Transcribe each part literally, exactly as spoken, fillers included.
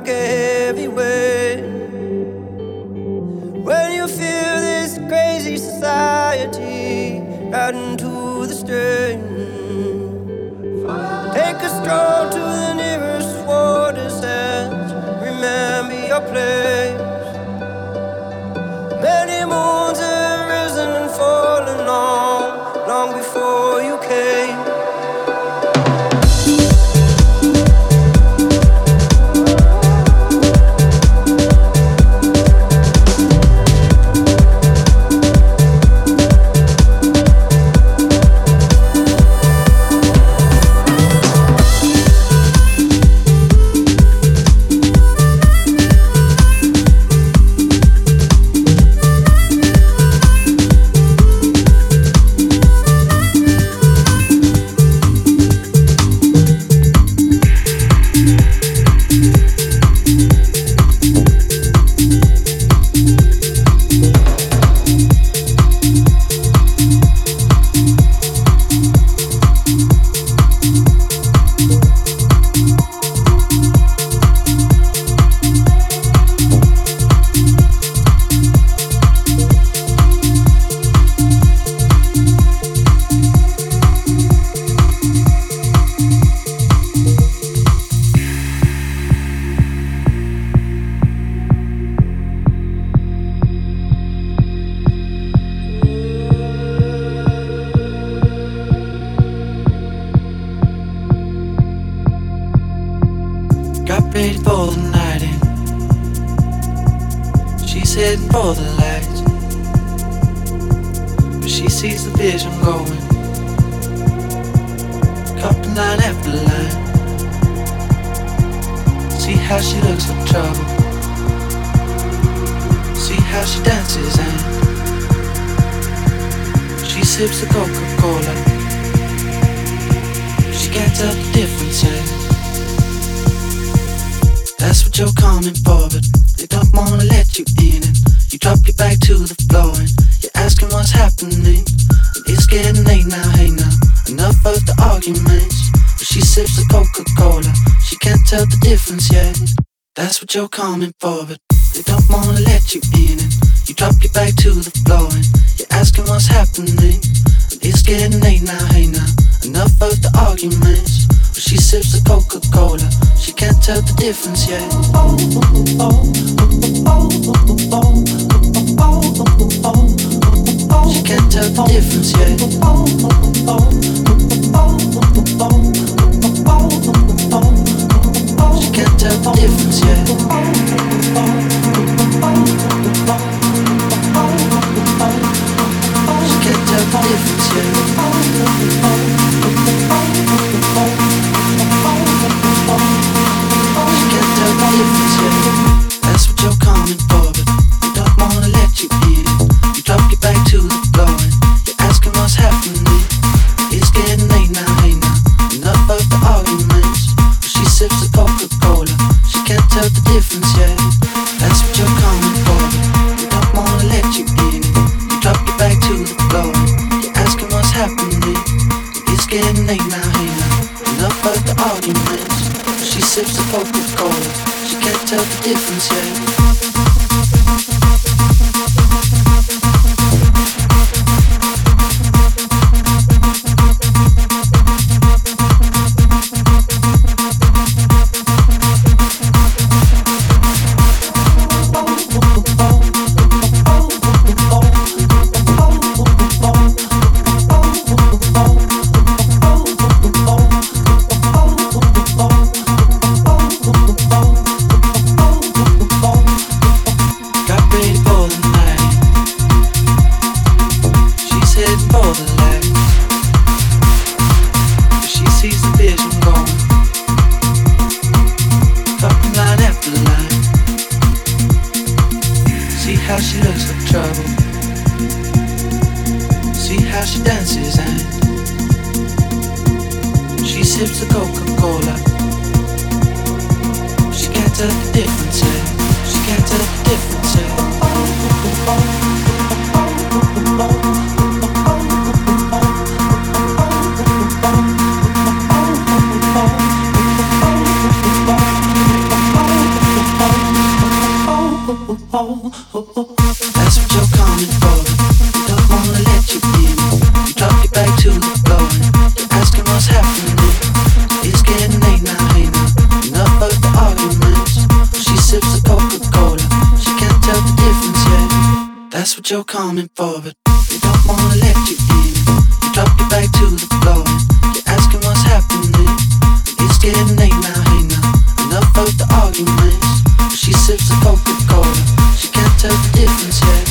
like a heavy weight. When you feel this crazy society right into the strain, take a stroll to the nearest water's edge. Remember your place. Many moons have risen and fallen long, long before you came. You're coming for, but they don't wanna let you in, and you drop your back to the floor and you're asking what's happening. It's getting late now, hey now, enough of the arguments. But she sips the Coca-Cola, she can't tell the difference yet. She can't tell the difference yet. She can't tell the difference yet. She can't tell the difference yet. She can't tell the difference yet. That's what you're coming for, but they don't wanna let you in. You drop your back to the floor and you're asking what's happening. It's getting late now, hey now, enough of the arguments. She sips the Coca-Cola, she can't tell the difference yet. That's what you're coming for, they don't wanna let you in. You drop your back to the floor, you're asking what's happening. It's getting late now, hey now, enough of the arguments. She sips the Coca-Cola, she can't tell the difference yet. That's what you're coming for. You don't wanna let you in. You drop your back to the floor. You're asking what's happening. It's getting late now, hey now. Enough of the arguments. She sips the Coca-Cola. She can't tell the difference yet. That's what you're coming for, but they don't wanna let you in. You drop your back to the floor. You're asking what's happening. It's getting late now, hey now. Enough of the arguments. She sips the Coca-Cola. She can't tell the difference yet.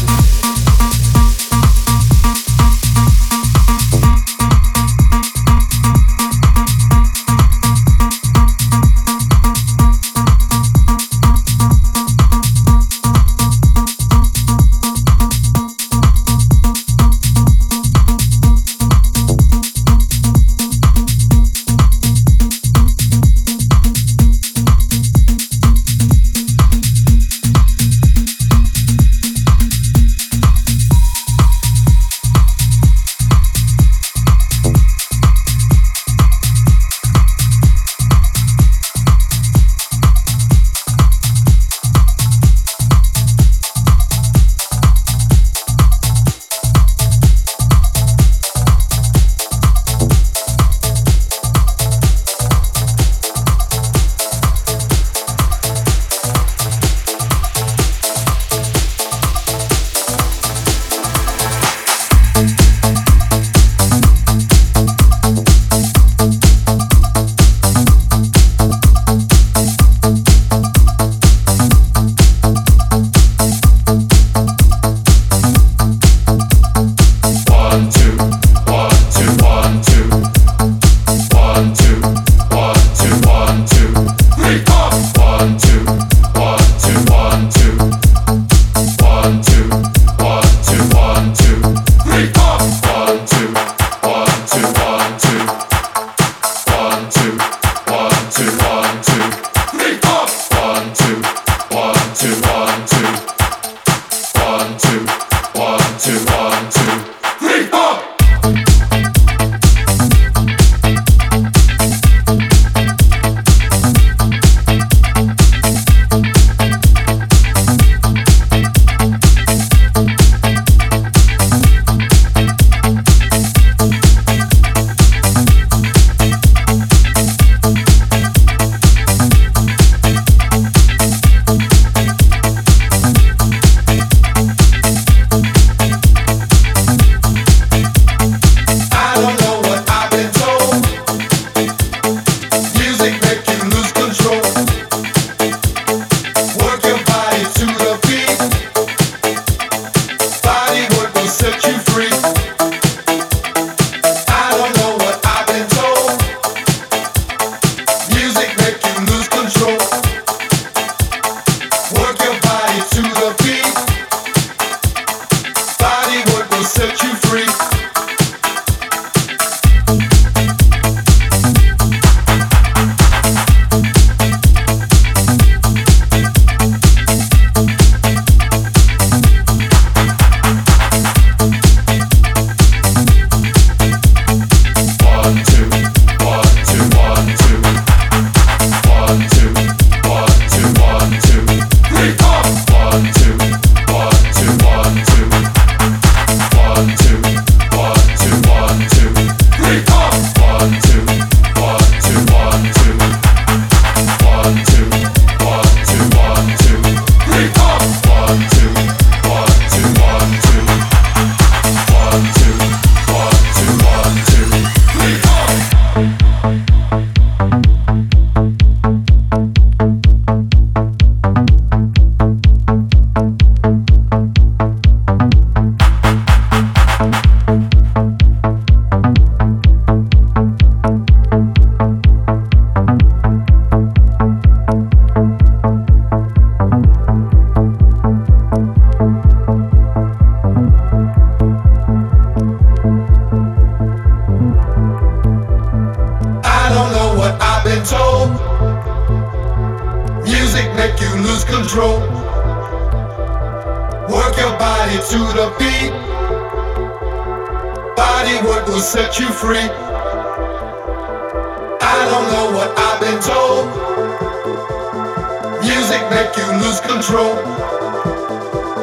Music make you lose control.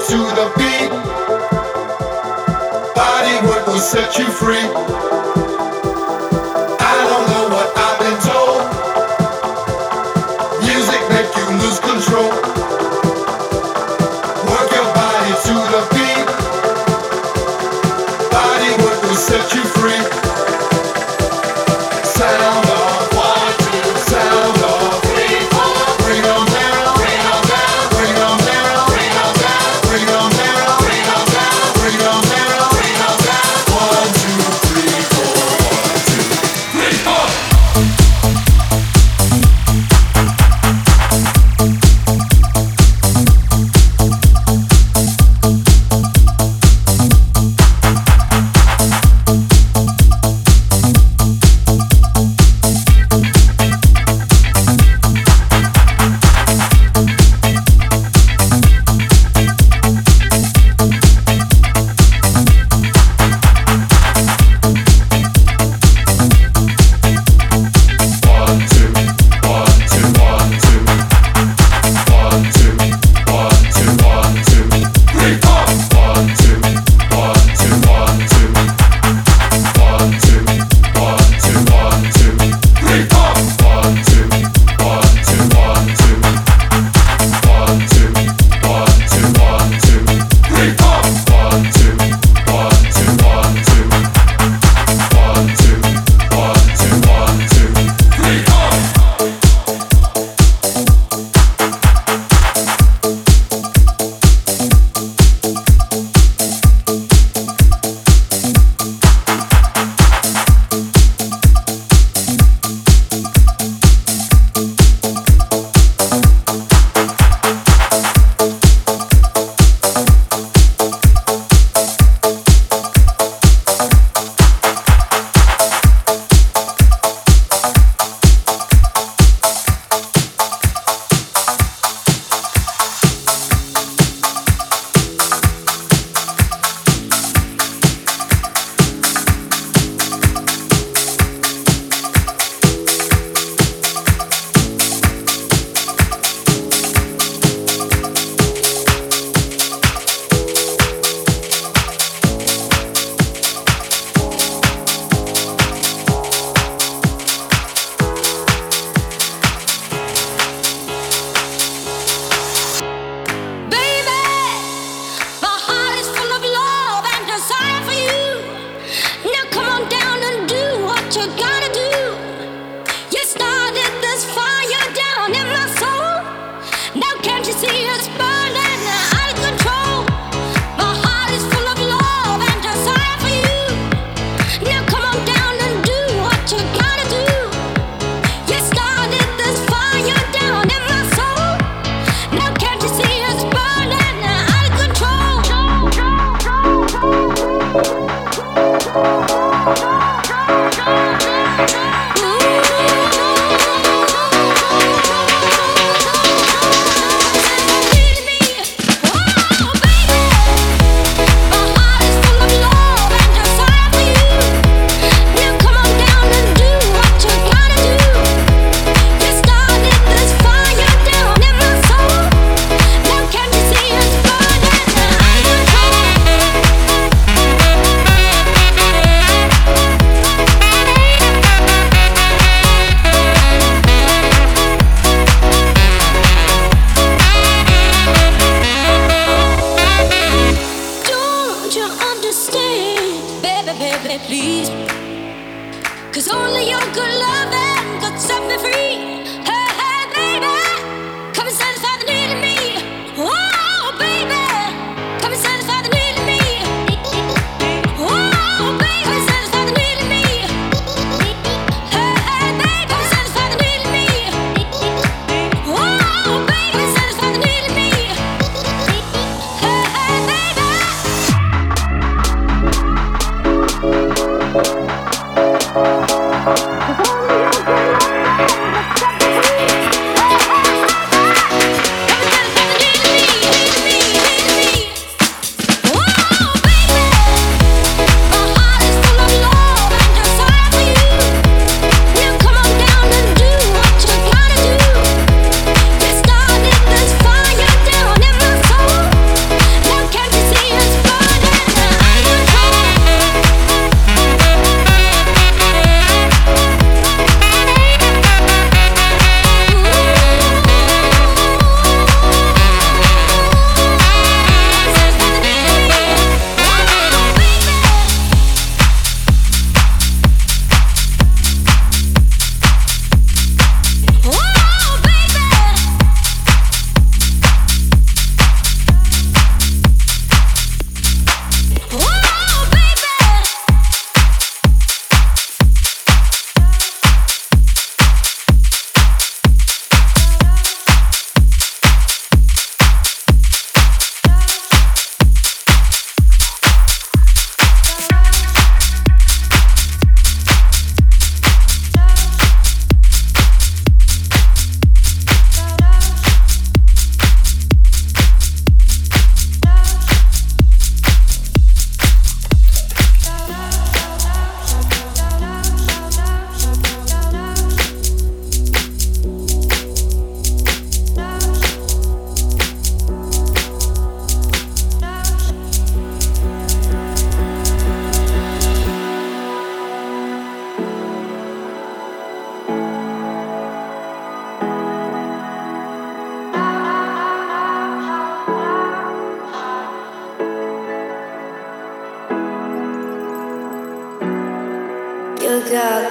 to the beat. Body work will set you free. I don't know what I've been told. Music make you lose control. Work your body to the beat. Body work will set you free. Sound off, one, two, sound off, three, four. Bring 'em down, bring 'em down, bring 'em down, bring 'em down, bring 'em down, bring 'em down, bring 'em down, bring 'em down. One, two, three, four. One, two, three, four.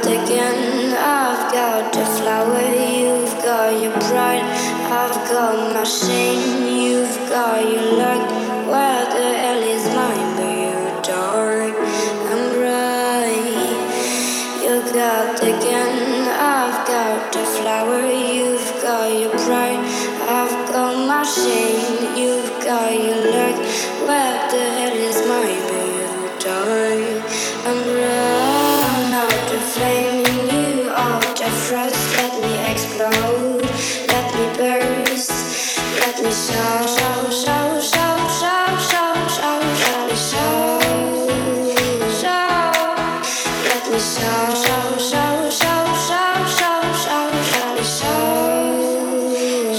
got the gun, I've got the flower, you've got your pride, I've got my shame, you've got your luck. Where the hell is mine? But you're dark and bright. You got the gun, I've got the flower, you've got your pride, I've got my shame, you've got your luck. Where the hell is mine? But you're dark and bright. I'm out the flame in you, out the frost. Let me explode, let me burst, let me shout, shout, shout, shout, shout, shout, shout, let me shout, shout, let me shout, shout, shout, shout, shout, shout, shout, let me shout.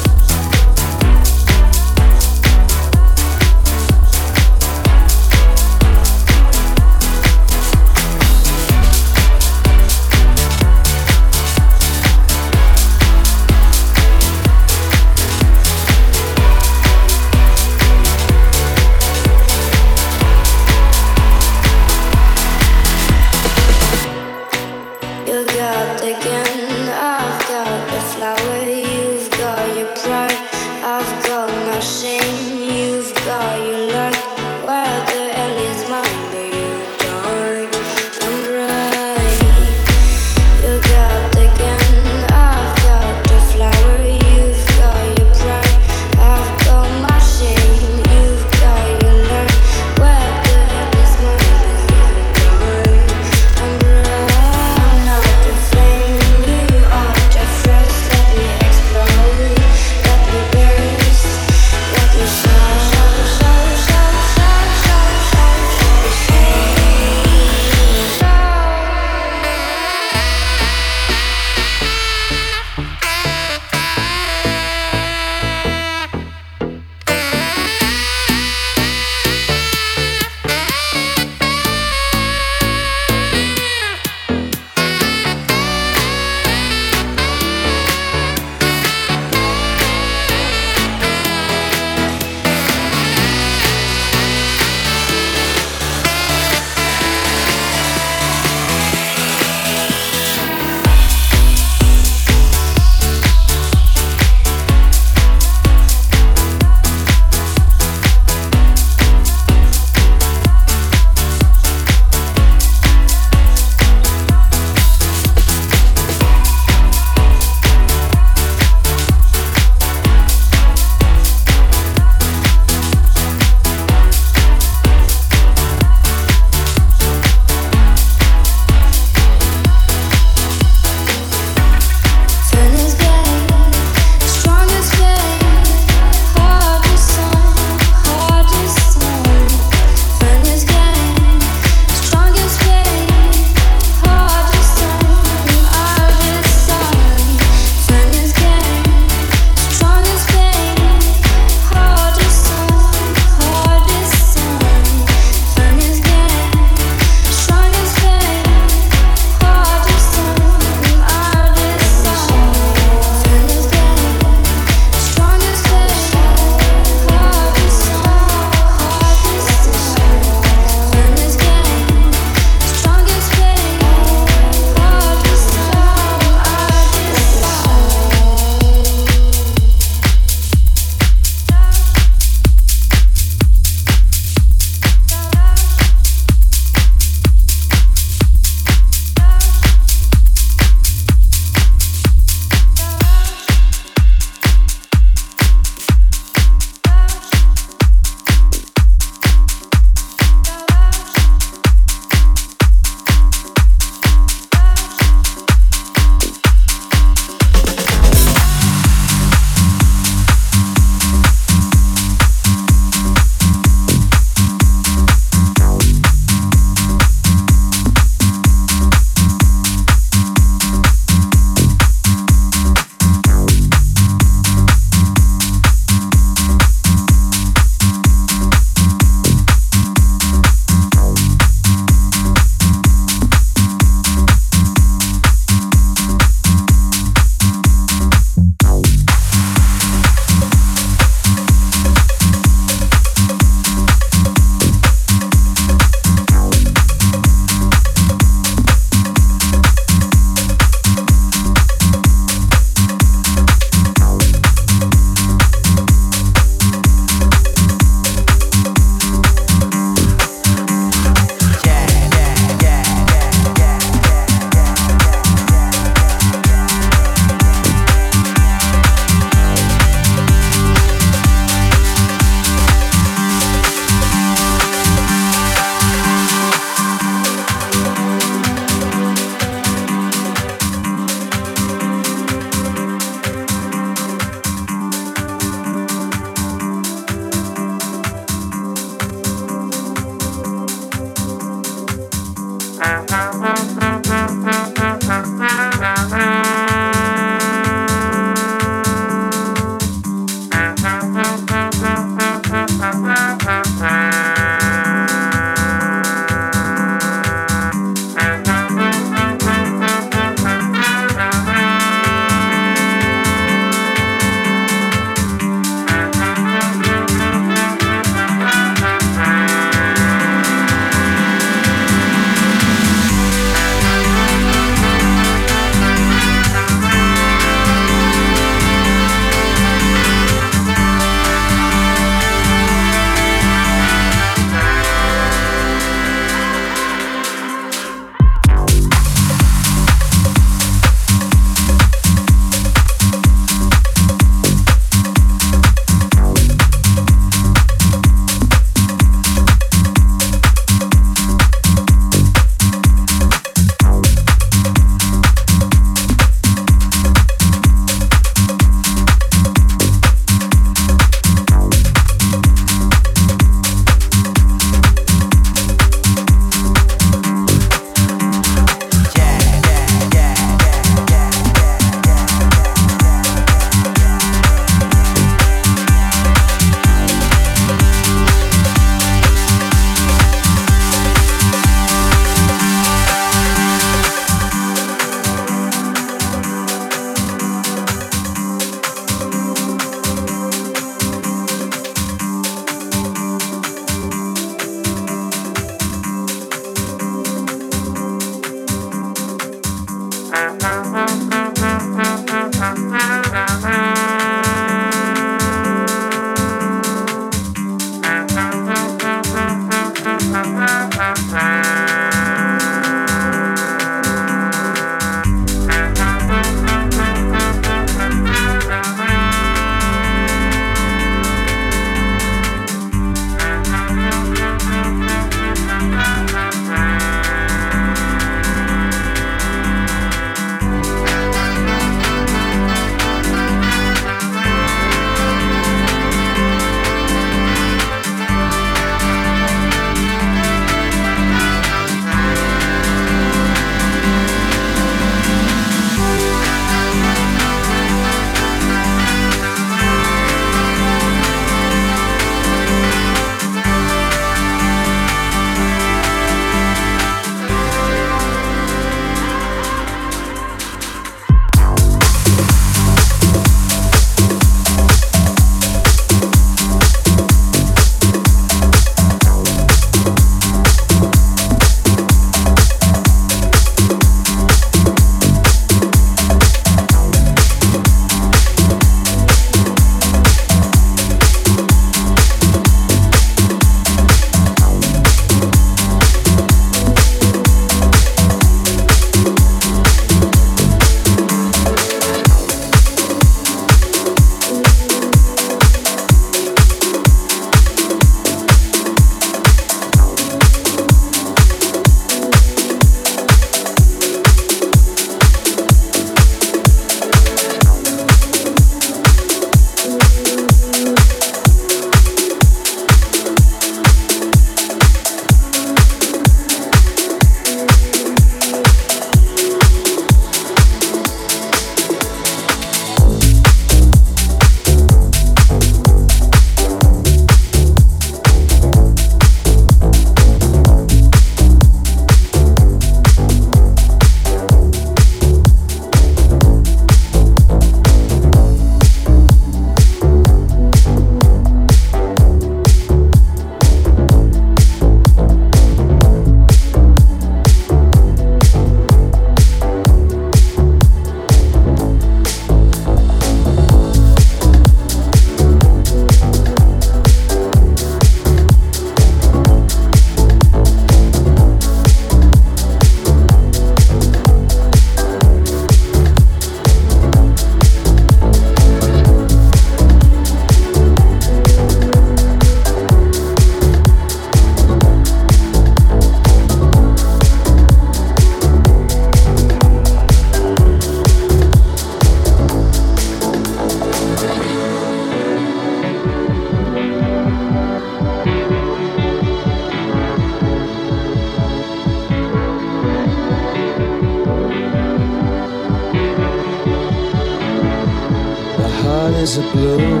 razor blue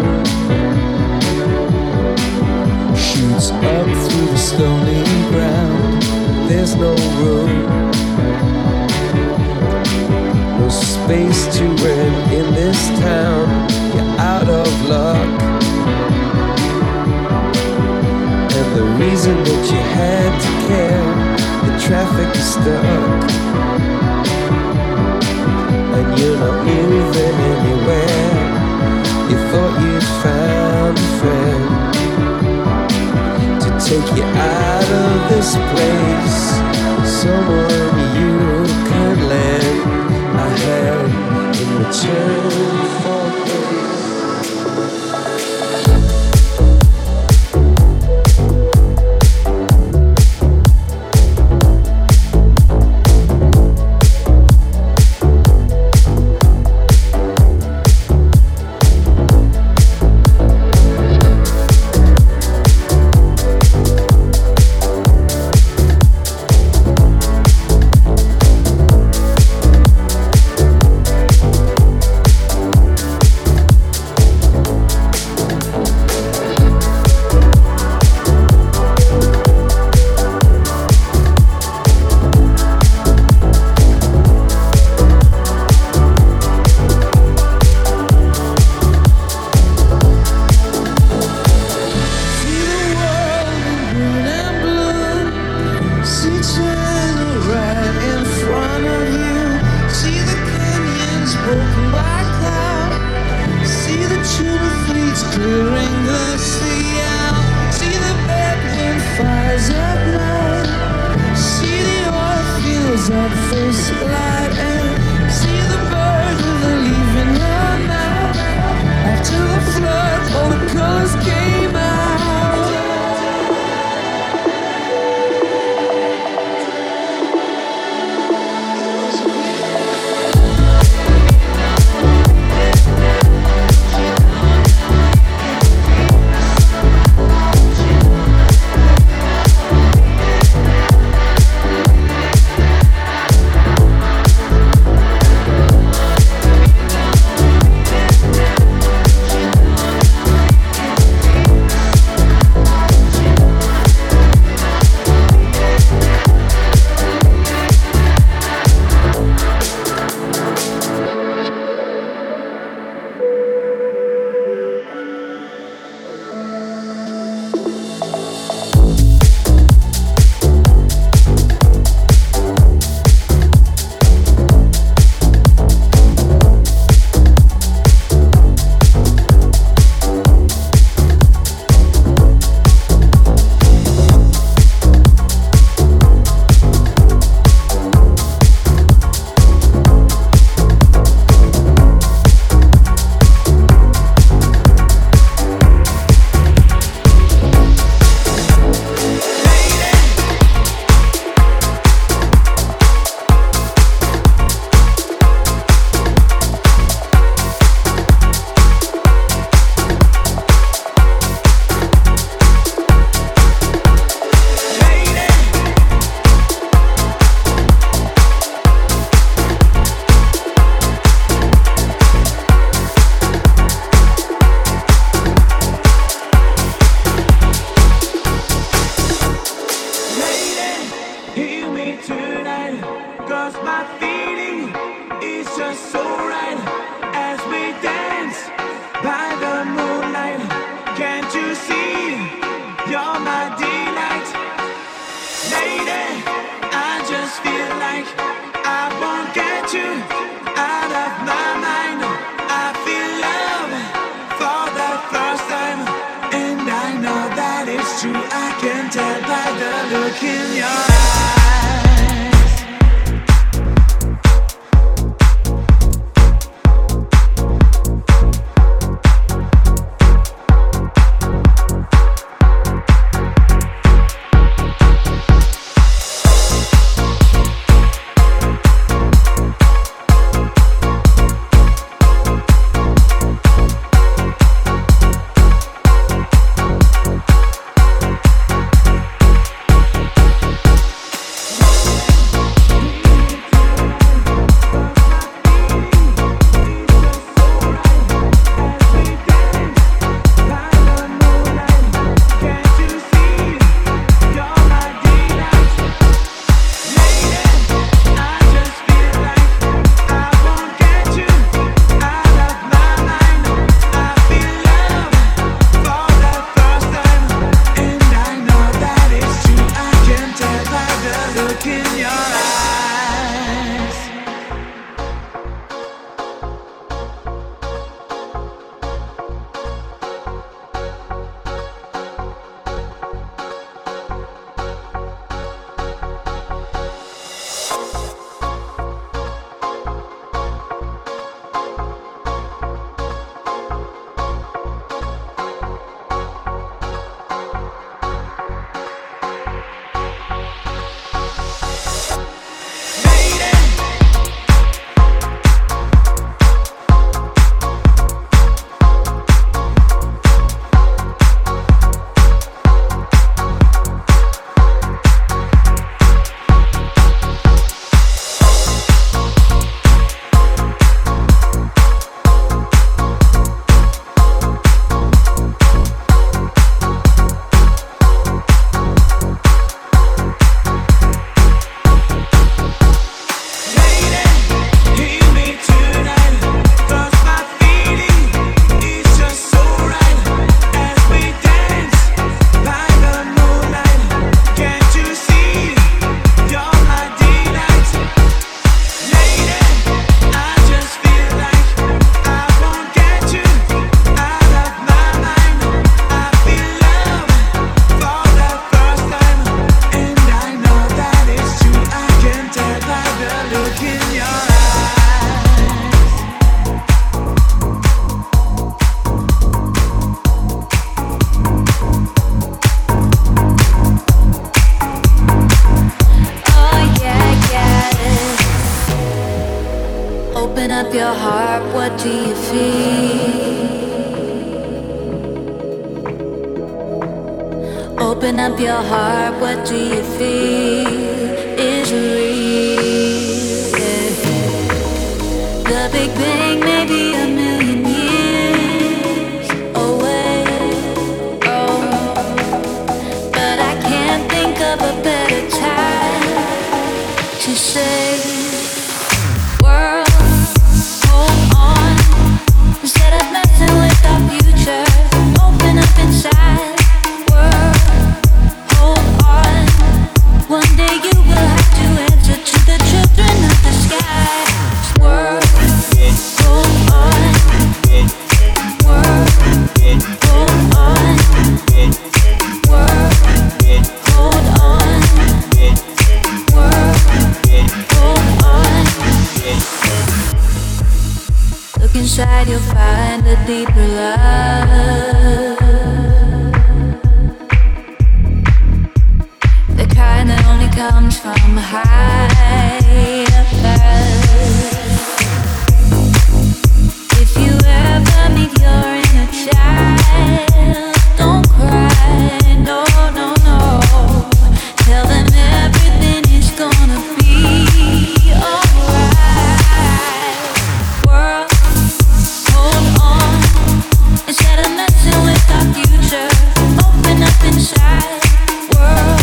shoots up through the stony ground. There's no room, no space to rent in this town. You're out of luck, and the reason that you had to care, the traffic is stuck, and you're not moving anywhere. You thought you'd found a friend to take you out of this place, someone you can lend a hand in return for grace. Open up your heart, what do you feel? Open up your heart, what do you feel is real? Yeah. The Big Bang may be a million years away, oh, but I can't think of a better time to say, world, hold on, instead of messing with our future, open up inside. One day you will have to answer to the children of the sky. World, hold on. World, hold on. World, hold on. World, hold on. Look inside, you'll find a deeper love. That only comes from high above. If you ever meet your inner child, don't cry, no, no, no. Tell them everything is gonna be alright. World, hold on, instead of messing with our future, open up inside. World,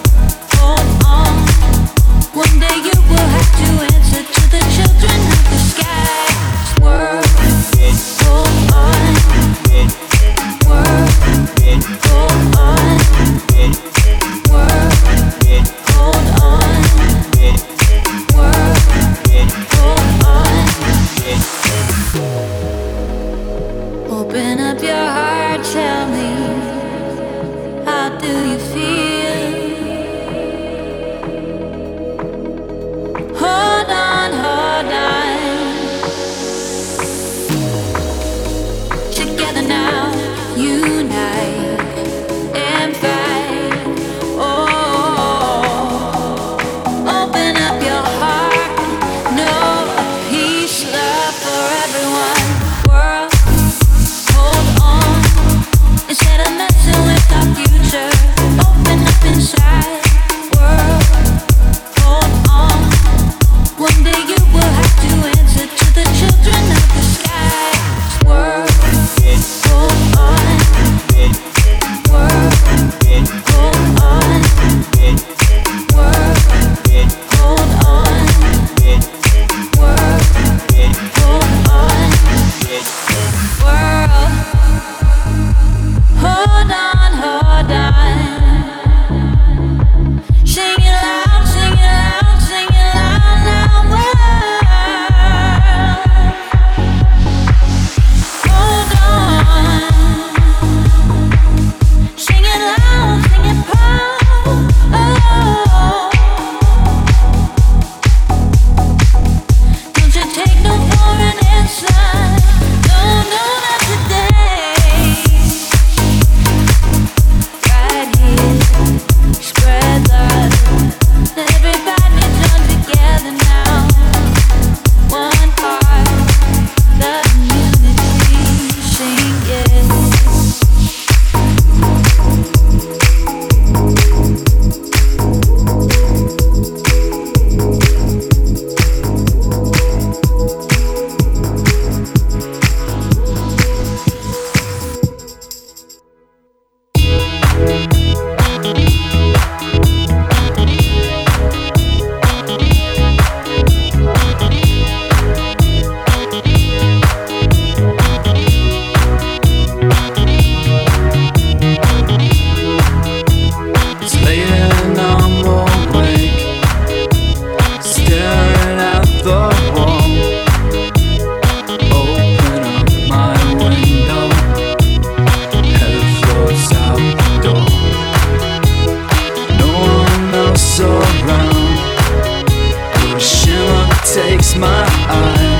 one day you will have to answer to the children of the sky. World, hold on. World, hold on. World, hold on. World, hold on. Open up your heart, tell me, how do you feel? Hold on, hold on. Together now, unite and fight. Oh, open up your heart. No peace, love for everyone. World, hold on. Instead of messing with our future, open up inside. World, hold on. One day you will have to answer to the children of the sky. World, hold on. World, hold on. World, hold on. World, hold on. World, hold on, hold on. Sing it loud, sing it loud, sing it loud now. Hold on. Sing it loud, sing it proud. Oh. Don't you take no for an answer. No, no, not today. Right here, spread love. Let everybody join together now. One heart, love and unity, sing yes. It's late and I'm awake, staring at the wall. Open up my window, head floats out the door. No one else around, but a shimmer takes my eye.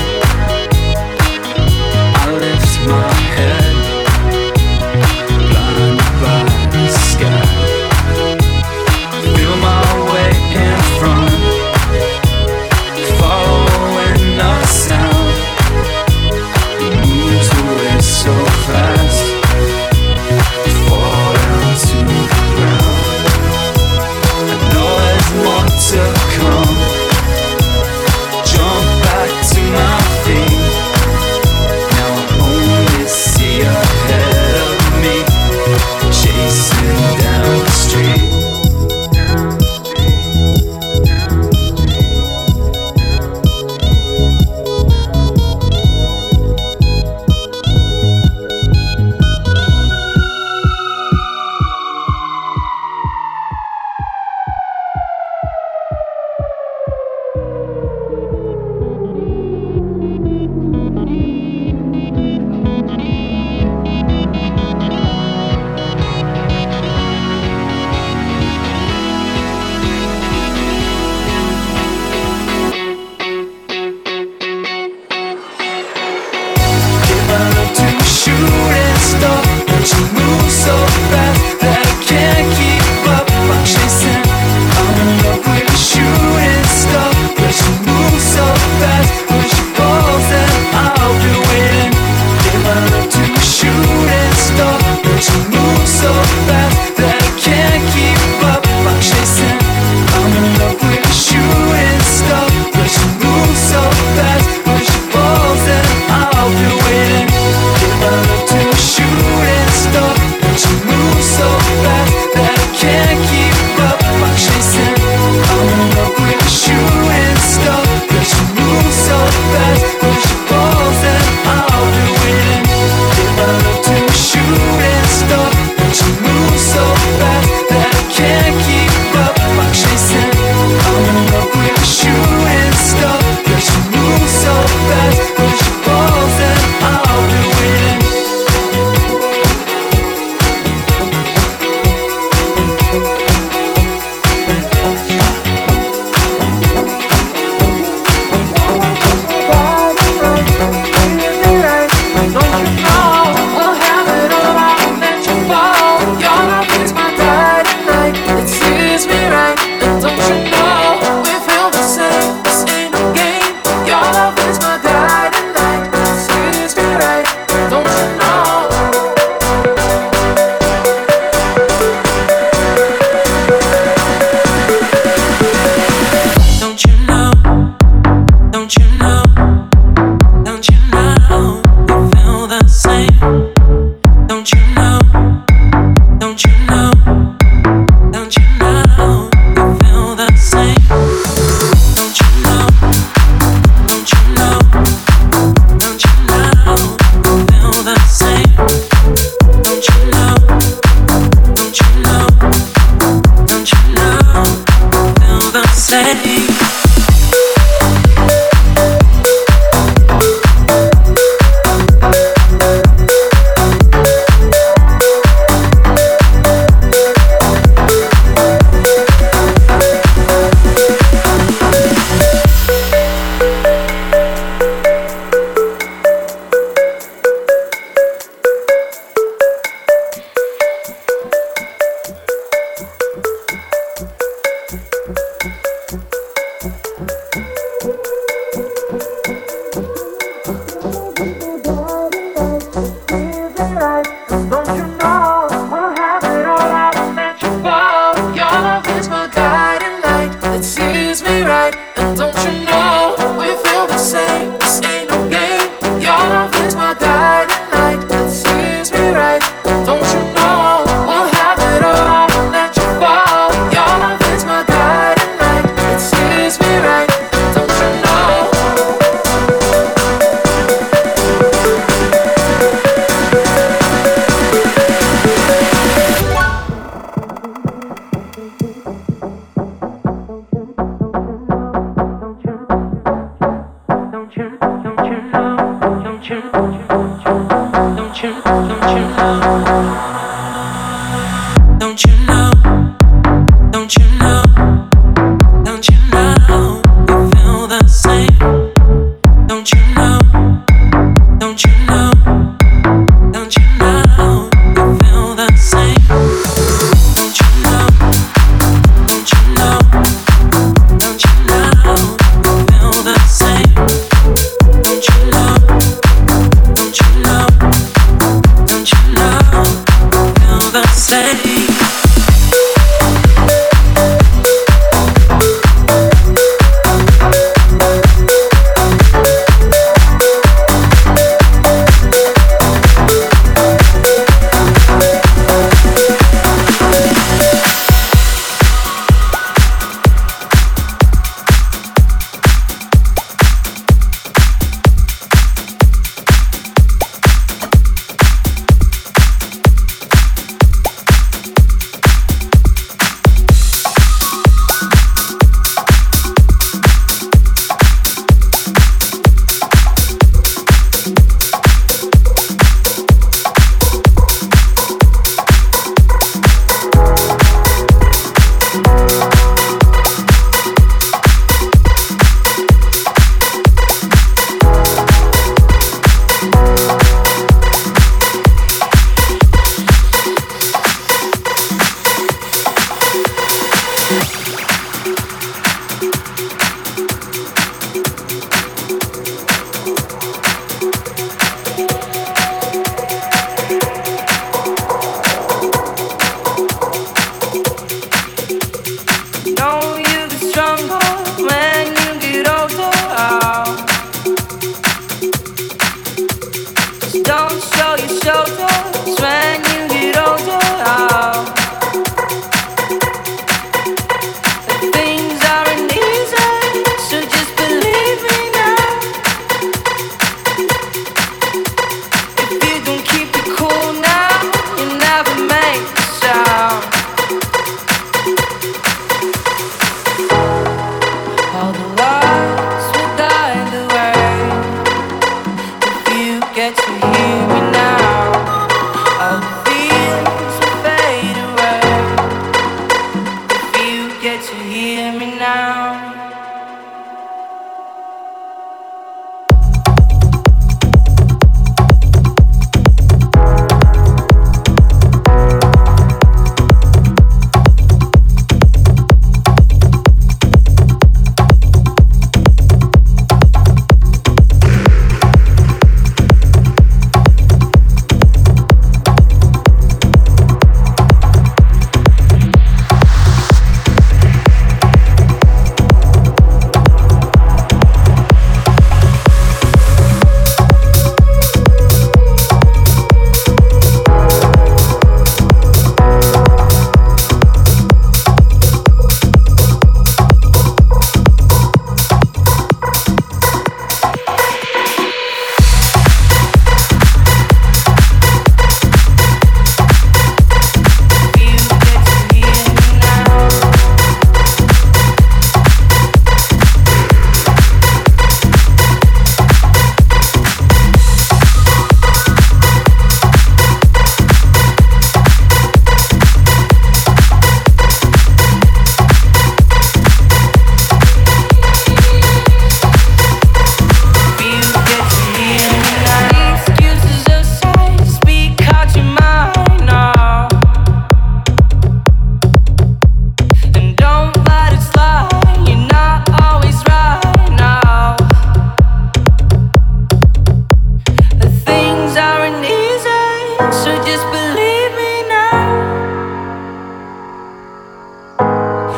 I lift my head, blinded by the sky. Feel my way in front, following the sound.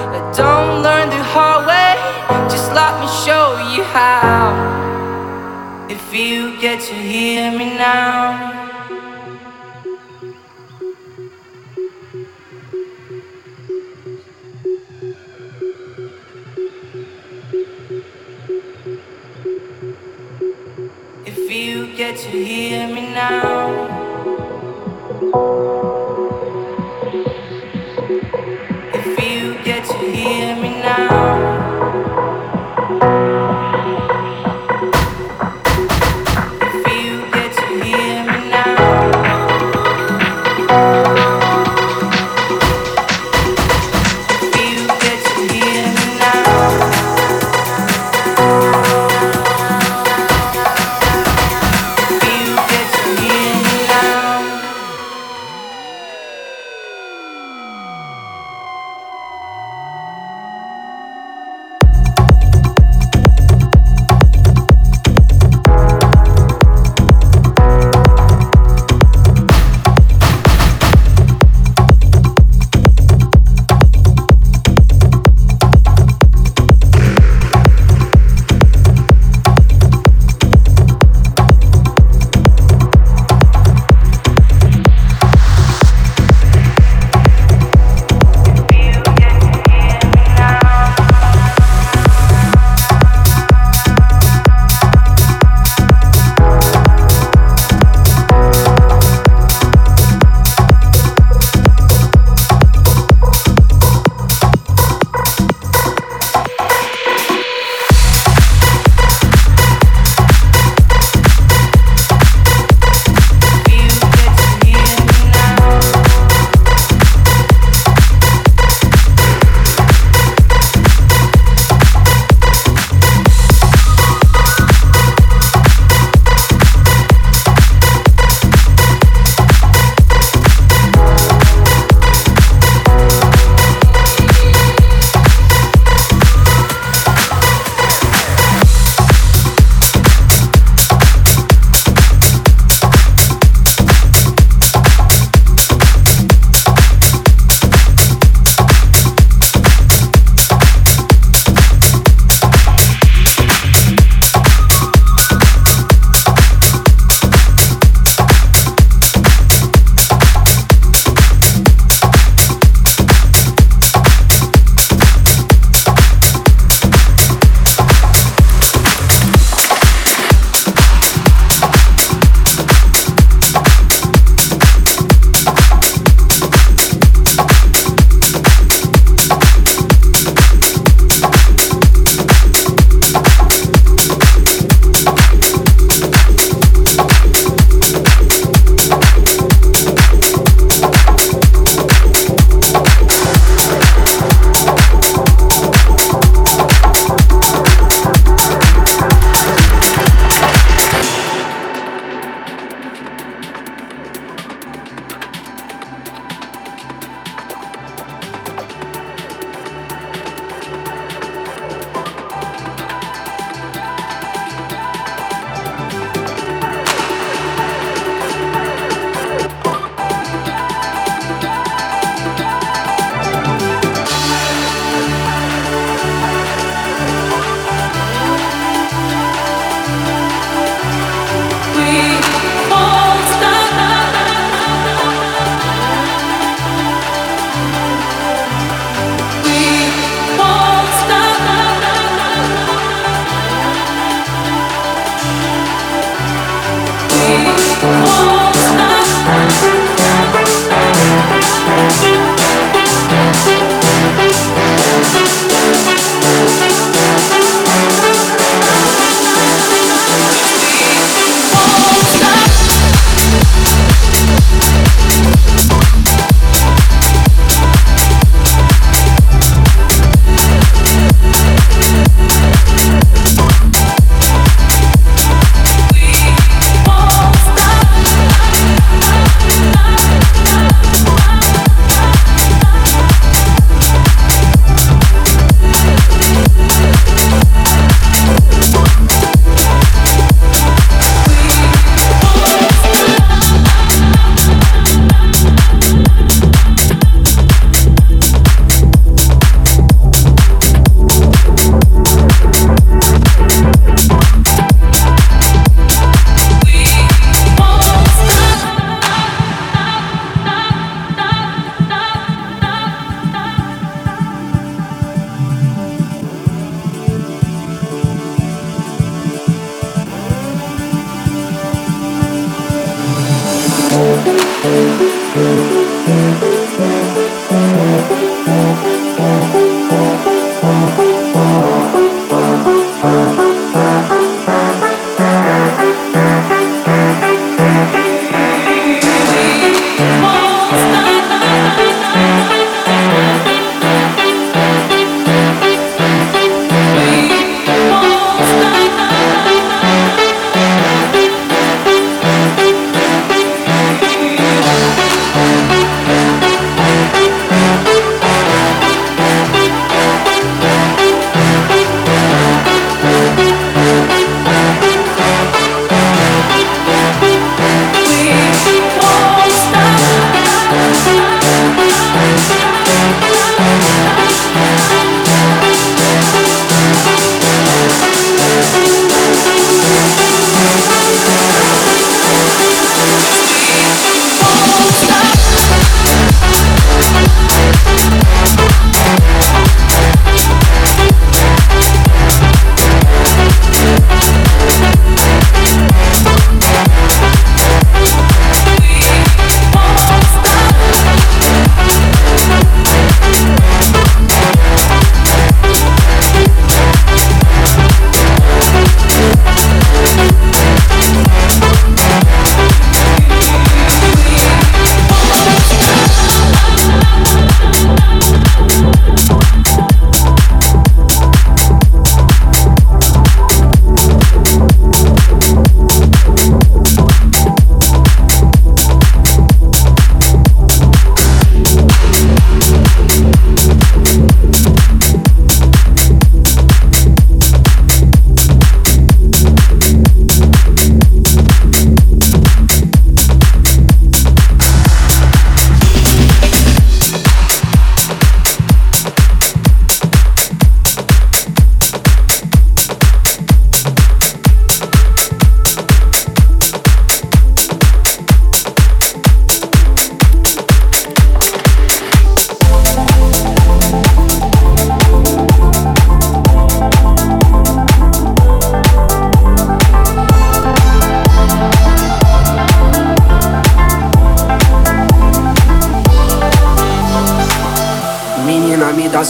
But don't learn the hard way, just let me show you how. If you get to hear me now. If you get to hear me now. If you get to hear me now.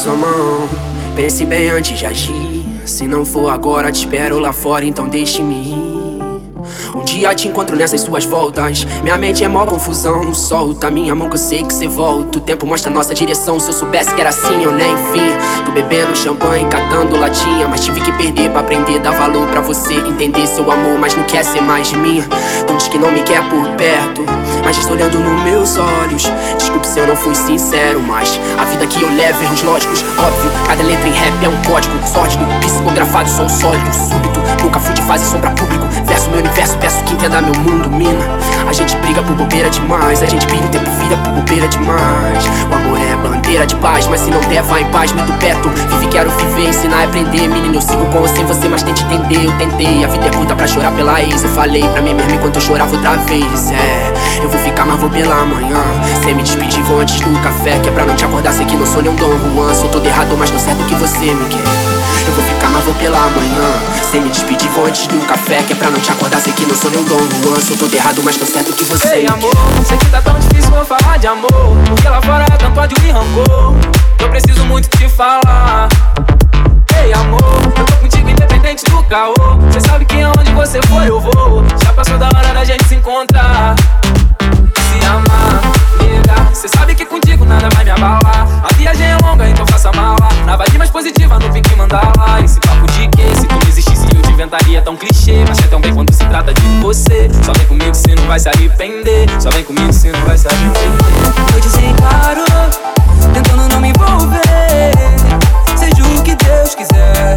sua mão. Pense bem antes de agir. Se não for agora, te espero lá fora, então deixe-me ir. Um dia te encontro nessas suas voltas. Minha mente é mó confusão, não solta minha mão que eu sei que cê volta. O tempo mostra nossa direção, se eu soubesse que era assim eu nem vi. Tô bebendo champanhe, catando latinha, mas tive que perder pra aprender, dar valor pra você entender seu amor, mas não quer ser mais de mim. Não diz que não me quer por perto, mas estou olhando nos meus olhos. Desculpe se eu não fui sincero, mas a vida que eu levo, erros lógicos, óbvio. Cada letra em rap é um código sórdido, psicografado, sou sólido, súbito. Nunca fui de fazer som pra público, verso meu universo, peço que entenda meu mundo, mina. A gente briga por bobeira demais, a gente perde o tempo, vida por bobeira demais. O amor é bandeira de paz, mas se não der, vai em paz, meto perto. Vive, quero viver, ensinar a aprender. Menino, eu sigo com ou sem você, mas tente entender, eu tentei. A vida é curta pra chorar pela ex, eu falei pra mim mesmo enquanto eu chorava outra vez. É, eu vou ficar, mas vou pela manhã. Sem me despedir, vou antes do café, que é pra não te acordar, sei que não sou nem um Dom Juan. Sou todo errado, mas tô certo que você me quer. Eu vou ficar, mas vou pela manhã. Sem me despedir, vou antes do café, que é pra não te acordar, sei que não sou nem um Dom Juan. Sou todo errado, mas tô certo que você Ei, me amor, quer. sei que tá tão difícil eu falar de amor, porque lá fora é tanto ódio e rancor. Eu preciso muito te falar. Ei, amor, eu tô contigo independente do caô. Cê sabe que aonde você for eu vou. Já passou da hora da gente se encontrar, se amar, nega. Cê sabe que contigo nada vai me abalar. A viagem é longa, então faça mala. Na vibe mais positiva, no pique mandala. Esse papo de que se tu não existisse eu te inventaria tão clichê. Mas é tão bem quando se trata de você. Só vem comigo se não vai se arrepender. Só vem comigo se não vai se arrepender. Eu disse claro, tentando não me envolver. Seja o que Deus quiser.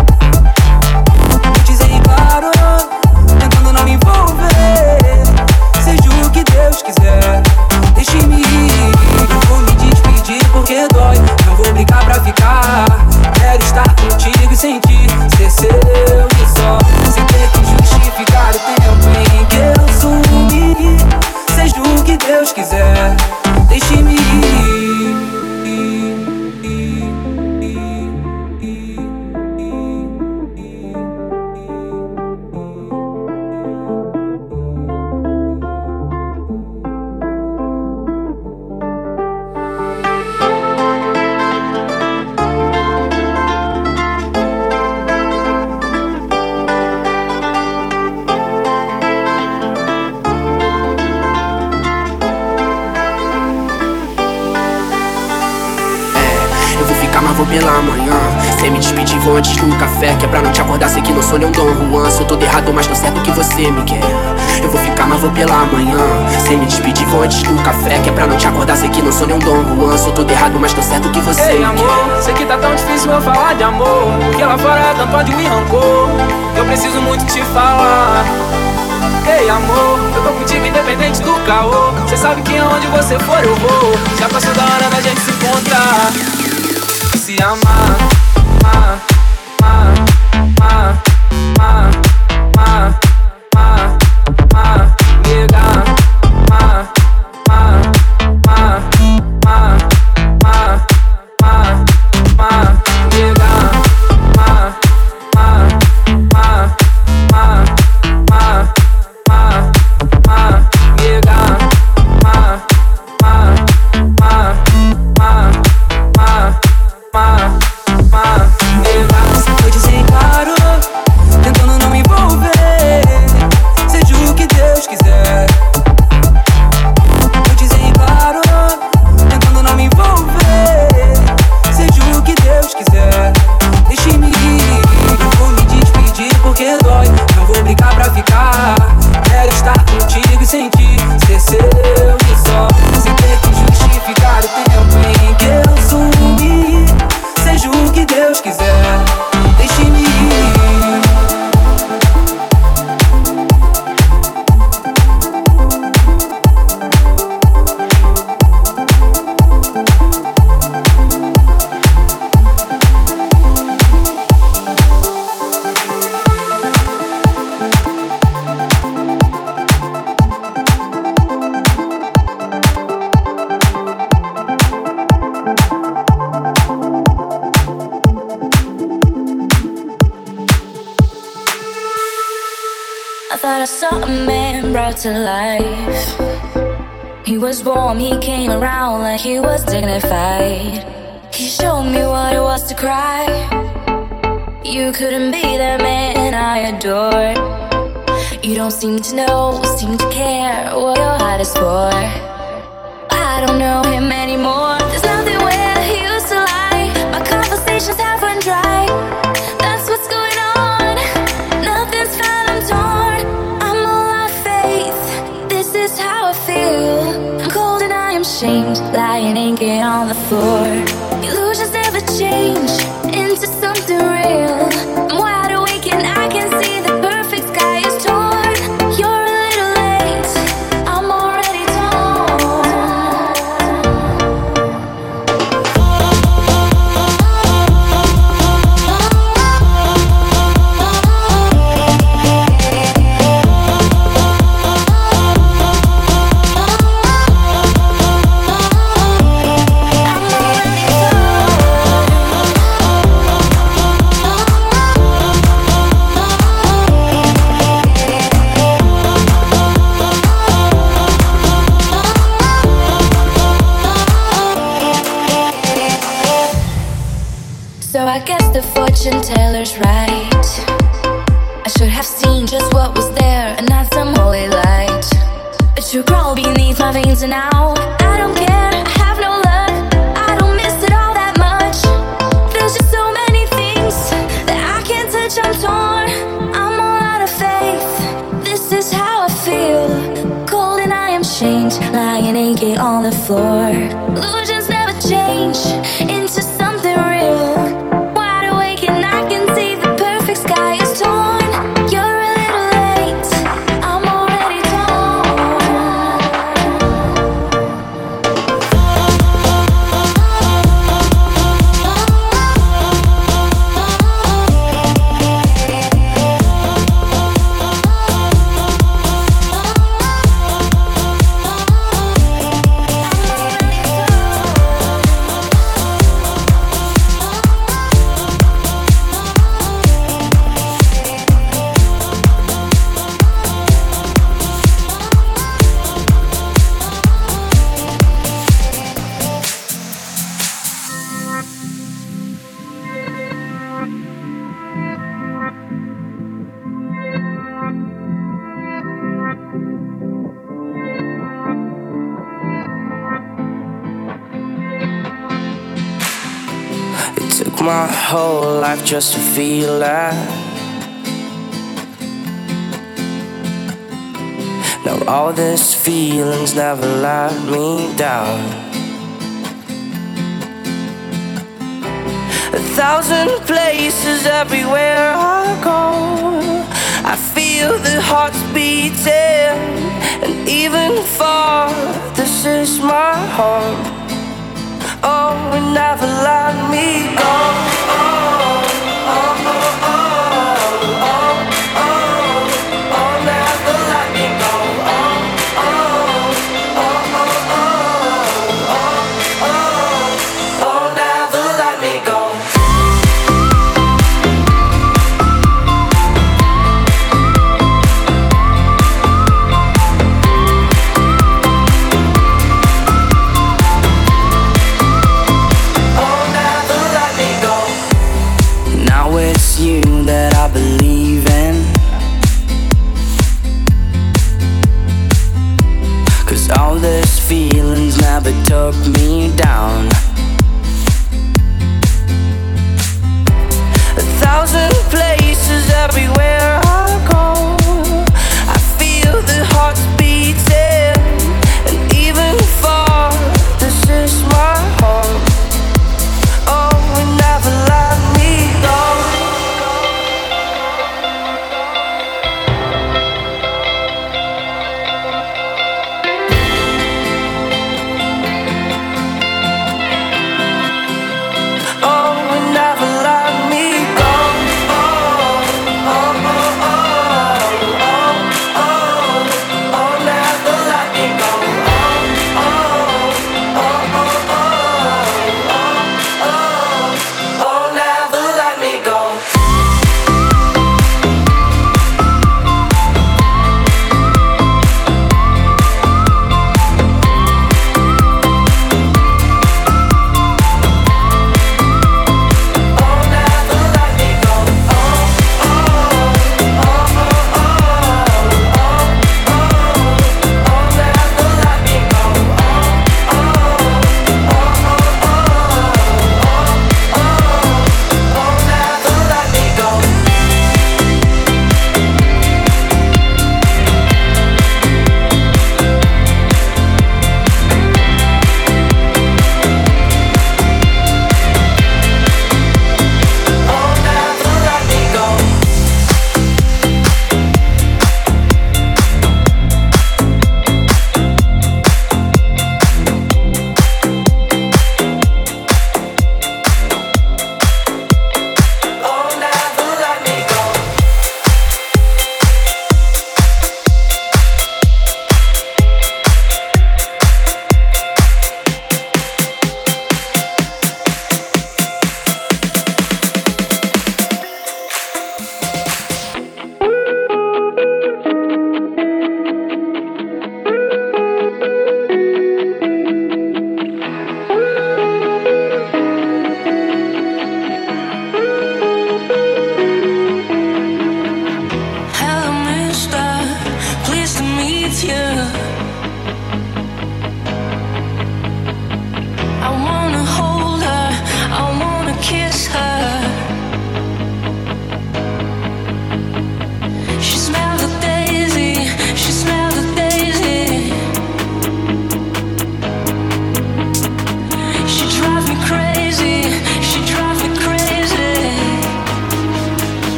Eu disse claro, tentando não me envolver. Seja o que Deus quiser. Deixe-me ir, não vou me despedir porque dói. Não vou brigar pra ficar. Quero estar contigo e sentir ser seu e só. Sem ter que justificar o tempo em que eu sumi. Seja o que Deus quiser. Deixe-me ir. Vou pela manhã, sem me despedir, vou antes do café, que é pra não te acordar, sei que não sou nem um Dom Juan. Sou todo errado, mas tô certo que você me quer. Eu vou ficar, mas vou pela manhã. Sem me despedir, vou antes do café, que é pra não te acordar, sei que não sou nem um Dom Juan. Sou todo errado, mas tô certo que você Ei, me amor, quer. sei que tá tão difícil eu falar de amor, porque lá fora é tanto ódio e rancor. Eu preciso muito te falar. Ei, amor, eu tô contigo independente do caô. Cê sabe que aonde você for eu vou. Já passou da hora da gente se encontrar, se amar, amar, amar, amar, amar, amar, amar, amar, nega, amar, amar, amar, amar, amar, amar, amar, nega, amar, amar, amar, amar, amar, amar, amar, nega, amar, amar, amar, amar, amar. Ma, ma, nega. Eu disse claro, tentando não me envolver. Seja o que Deus quiser. Eu disse claro, tentando não me envolver. Seja o que Deus quiser. Deixe-me ir, não vou me despedir porque dói. Não vou brigar pra ficar. Quero estar contigo e sentir ser seu e só. Sem ter que justificar o tempo em que eu sumi. Seja o que Deus quiser, deixe-me ir. I thought I saw a man brought to life. He was warm, he came around like he was dignified. His showed me what it was to cry. You couldn't be the man I adored. You don't seem to know, seem to care what your heart is for. I don't know him anymore. There's nothing where he used to lie. My conversations have run dry. That's what's going on. Nothing's fine, I'm torn. I'm all out of faith. This is how I feel. I'm cold and I am shamed, lying naked on the floor. Illusions never change into something real. I'm wide awake and I can see the perfect sky is torn. You're a little late, I'm already fortune teller's right. I should have seen just what was there and not some holy light. But you crawl beneath my veins and now I don't care, I have no luck. I don't miss it all that much. There's just so many things that I can't touch, I'm torn. I'm all out of faith. This is how I feel. Cold and I am shamed, lying naked on the floor. Illusions never change into something real. My whole life just to feel that. Now all these feelings never let me down. A thousand places everywhere I go, I feel the hearts beating. And even far, this is my home. Oh, and never let me go. Oh, oh, oh, oh, oh, oh, oh, oh, never let me go. Oh, oh, oh, oh, oh, oh, oh, oh, never let me go. Feelings never took me down. A thousand places everywhere I go, I feel the hearts beating. And even far, this is my home. Oh, and never let me go.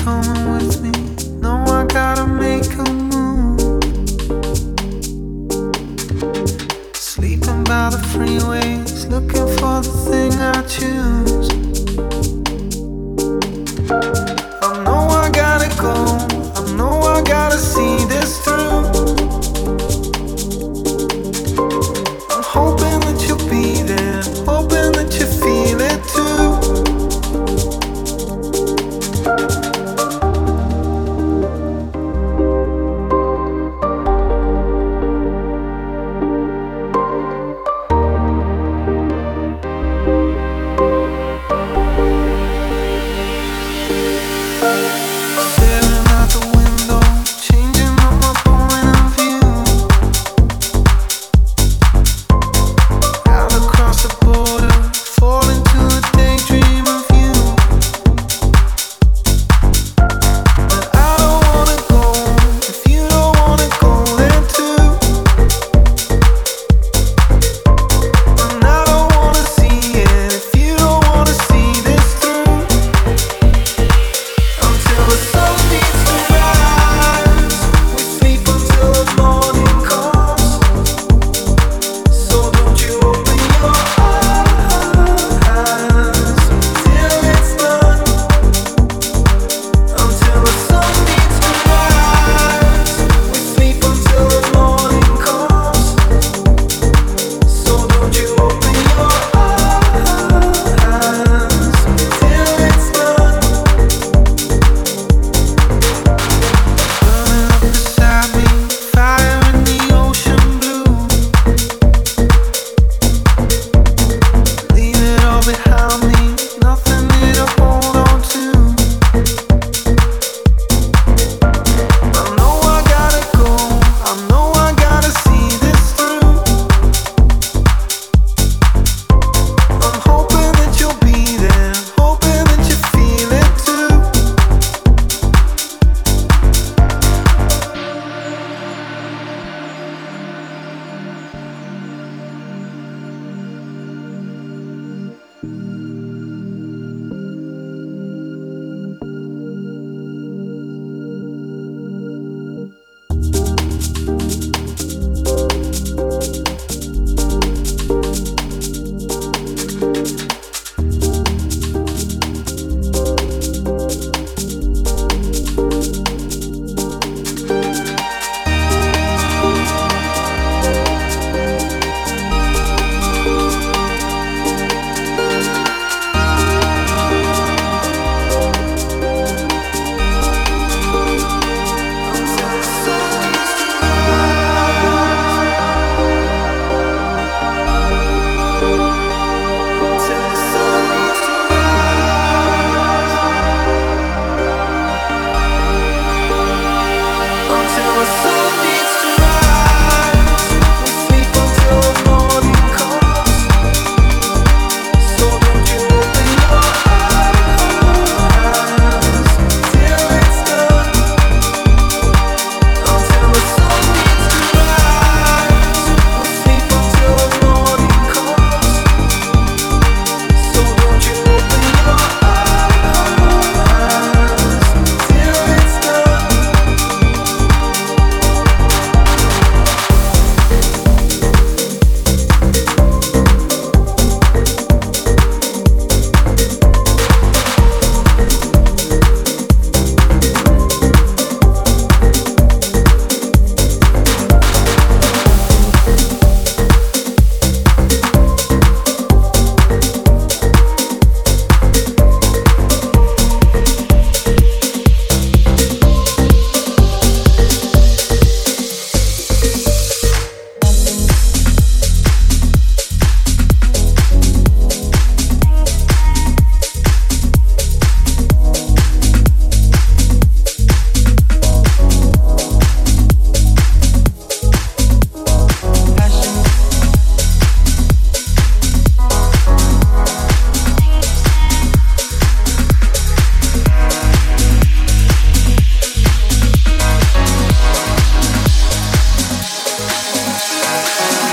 coming with me. No, I gotta make a move. Sleeping by the freeways, looking for the thing I choose. I know I gotta go, I know I gotta see this through. I'm hoping that you'll be there, hoping that you feel it too.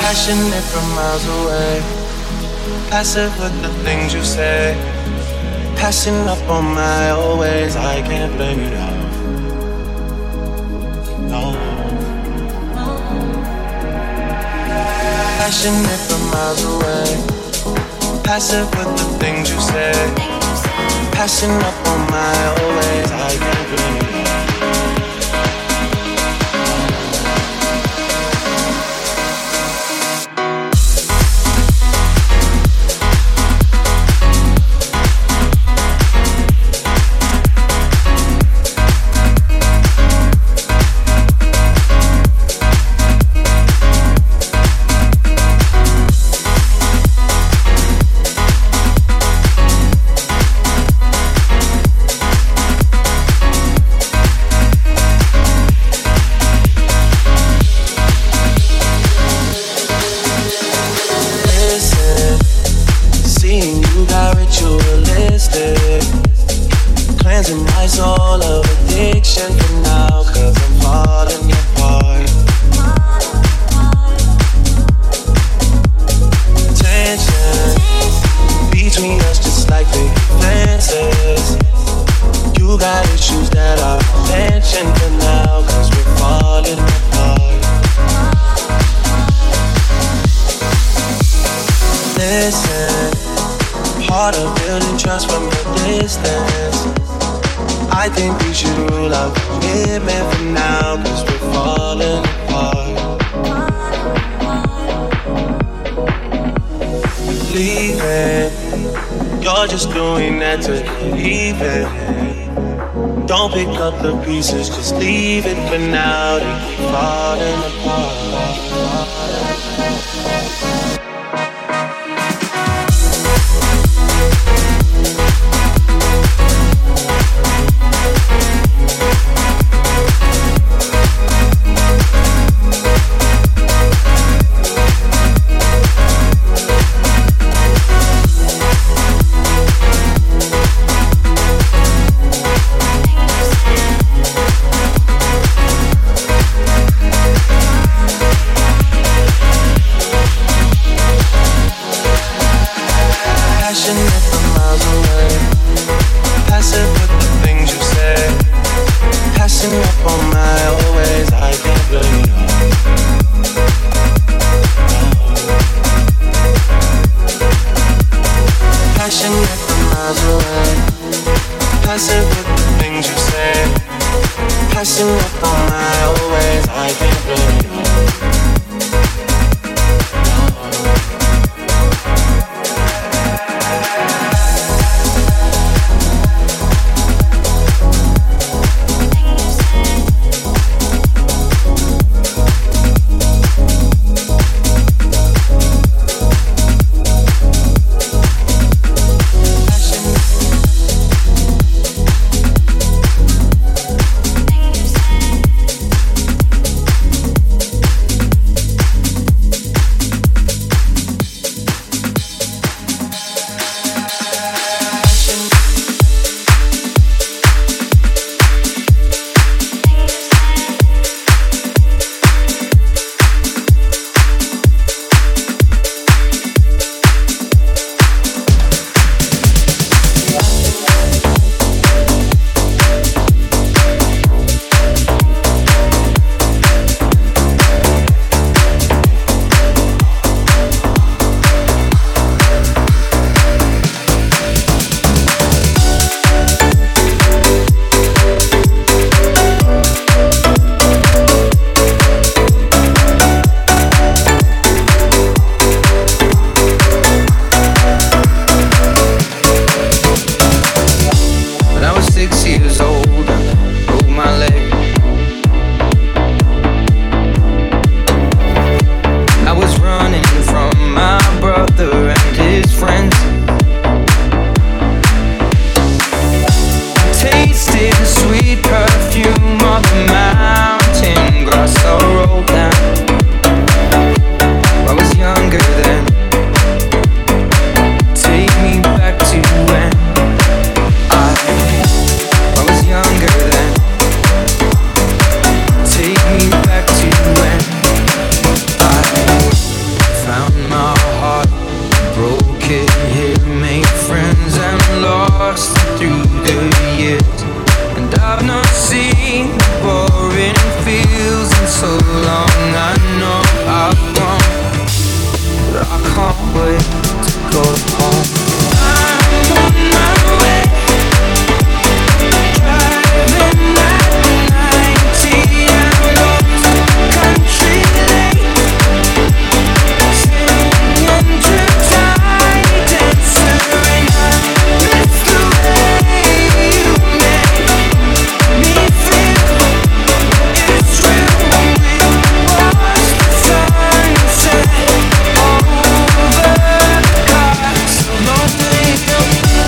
passionate from miles away, passive with the things you say. Passing up on my old ways, I can't blame you now. No. Passionate from miles away, passive with the things you say. Passing up on my old ways, I can't blame you now. The pieces, just leave it for now. They keep falling apart. years, and I've not seen boring feels in so long. I know I've grown, but I can't wait to go home. I'm on my way, driving at ninety and lost country lane, singing to tide dancer, and I miss the way you make me feel. It's real when we watch the sunset over the castle of the hill.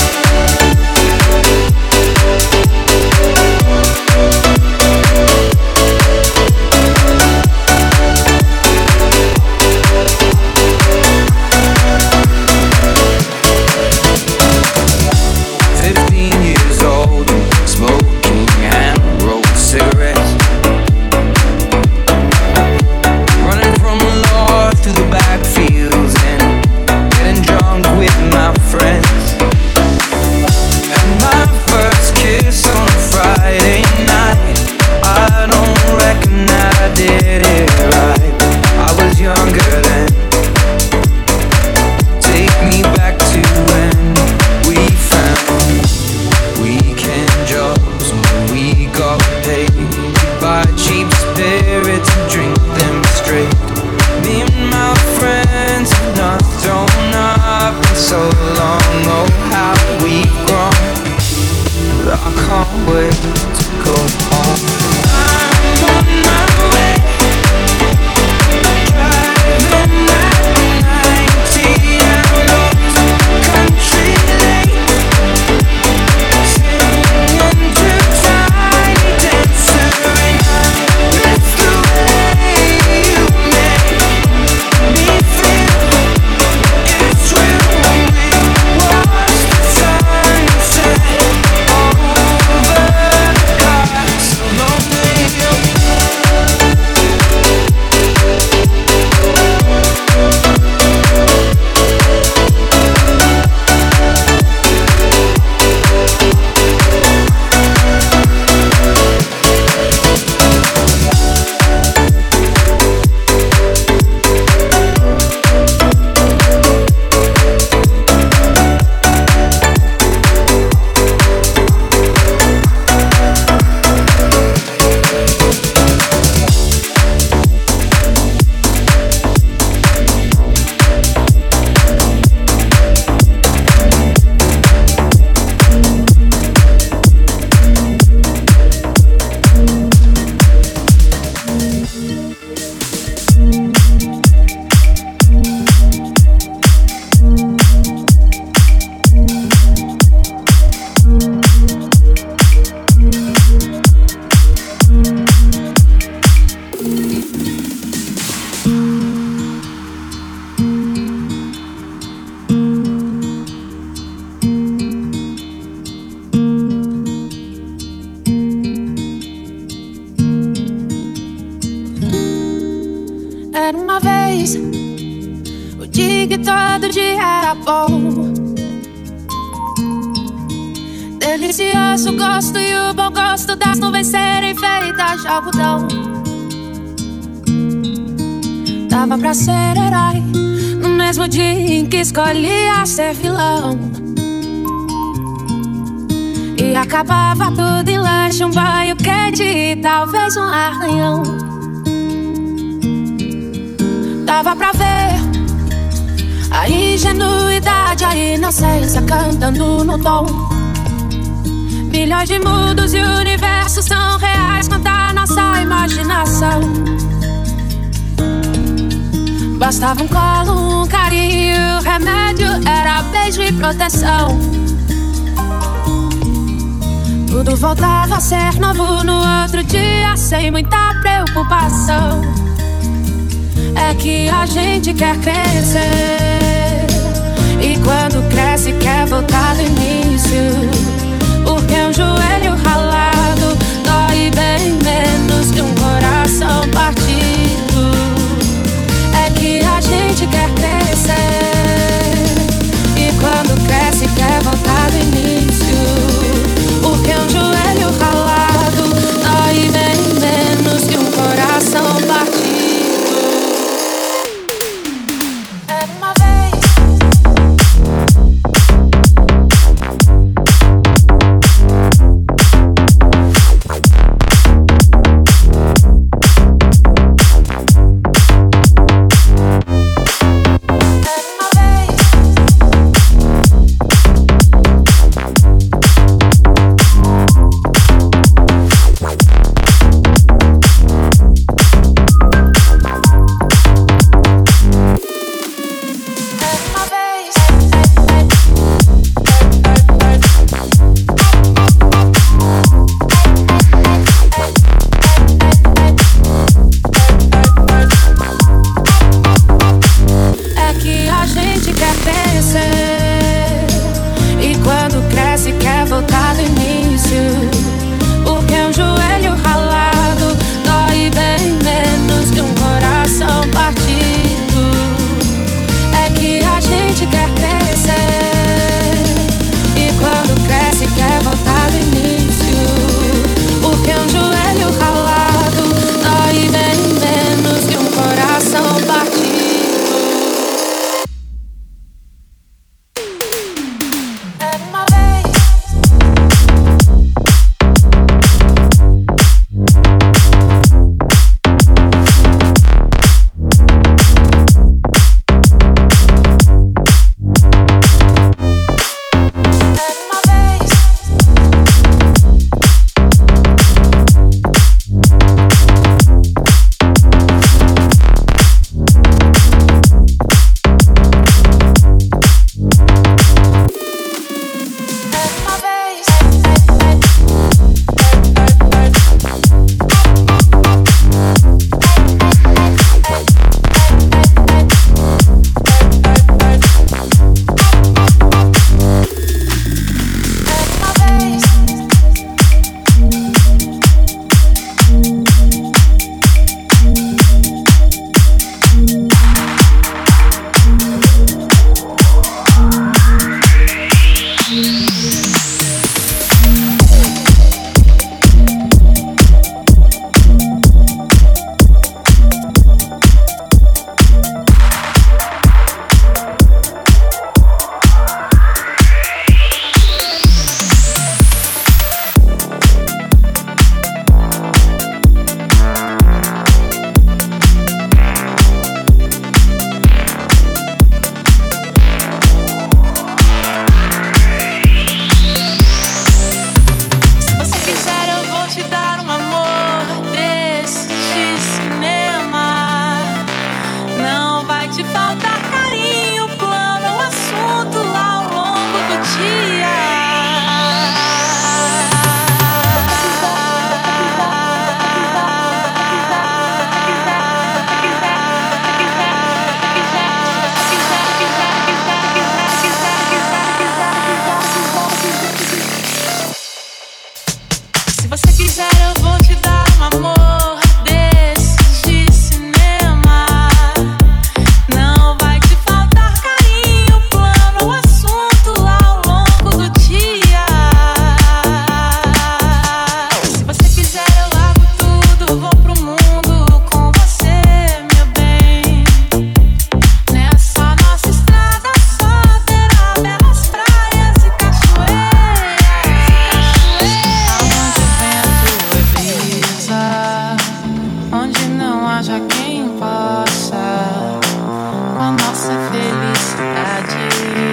Fifteen years old, smoking hand-rolled cigarettes, running from the law through the backfields and getting drunk with my friends. And my first kiss on a Friday night, I don't reckon that I did it right. I was younger then. Take me back to when we found weekend jobs, when we got paid to buy cheap spirits and drink them straight. Me and my friends have not thrown up in so long. Oh, how we've grown, but I can't wait to go home. I'm on my way, driving at ninety and lost country lane, singing to tiny dancer, and I miss the way you make me feel. It's real when we watch the sunset over the castle of the hill. Era uma vez o dia que todo dia era bom, delicioso o gosto e o bom gosto das nuvens serem feitas de algodão. Dava pra ser herói no mesmo dia em que escolhia ser vilão, e acabava tudo em lanche, um banho quente e talvez um arranhão. Dava pra ver a ingenuidade, a inocência cantando no tom. Milhões de mundos e universos tão reais quanto a nossa imaginação. Bastava um colo, um carinho, o remédio era beijo e proteção. Tudo voltava a ser novo no outro dia, sem muita preocupação. É que a gente quer crescer, e quando cresce quer voltar do início, porque um joelho ralado dói bem menos que um coração partido. É que a gente quer crescer, e quando cresce quer voltar do início, Se você quiser eu vou te dar um amor desses de cinema. Não vai te faltar carinho, plano, assunto ao longo do dia. Se você quiser eu largo tudo, vou pro mundo com você, meu bem. Nessa nossa estrada só terá belas praias e cachoeiras. Aonde o vento é brisa, onde não haja quem possa com a nossa felicidade.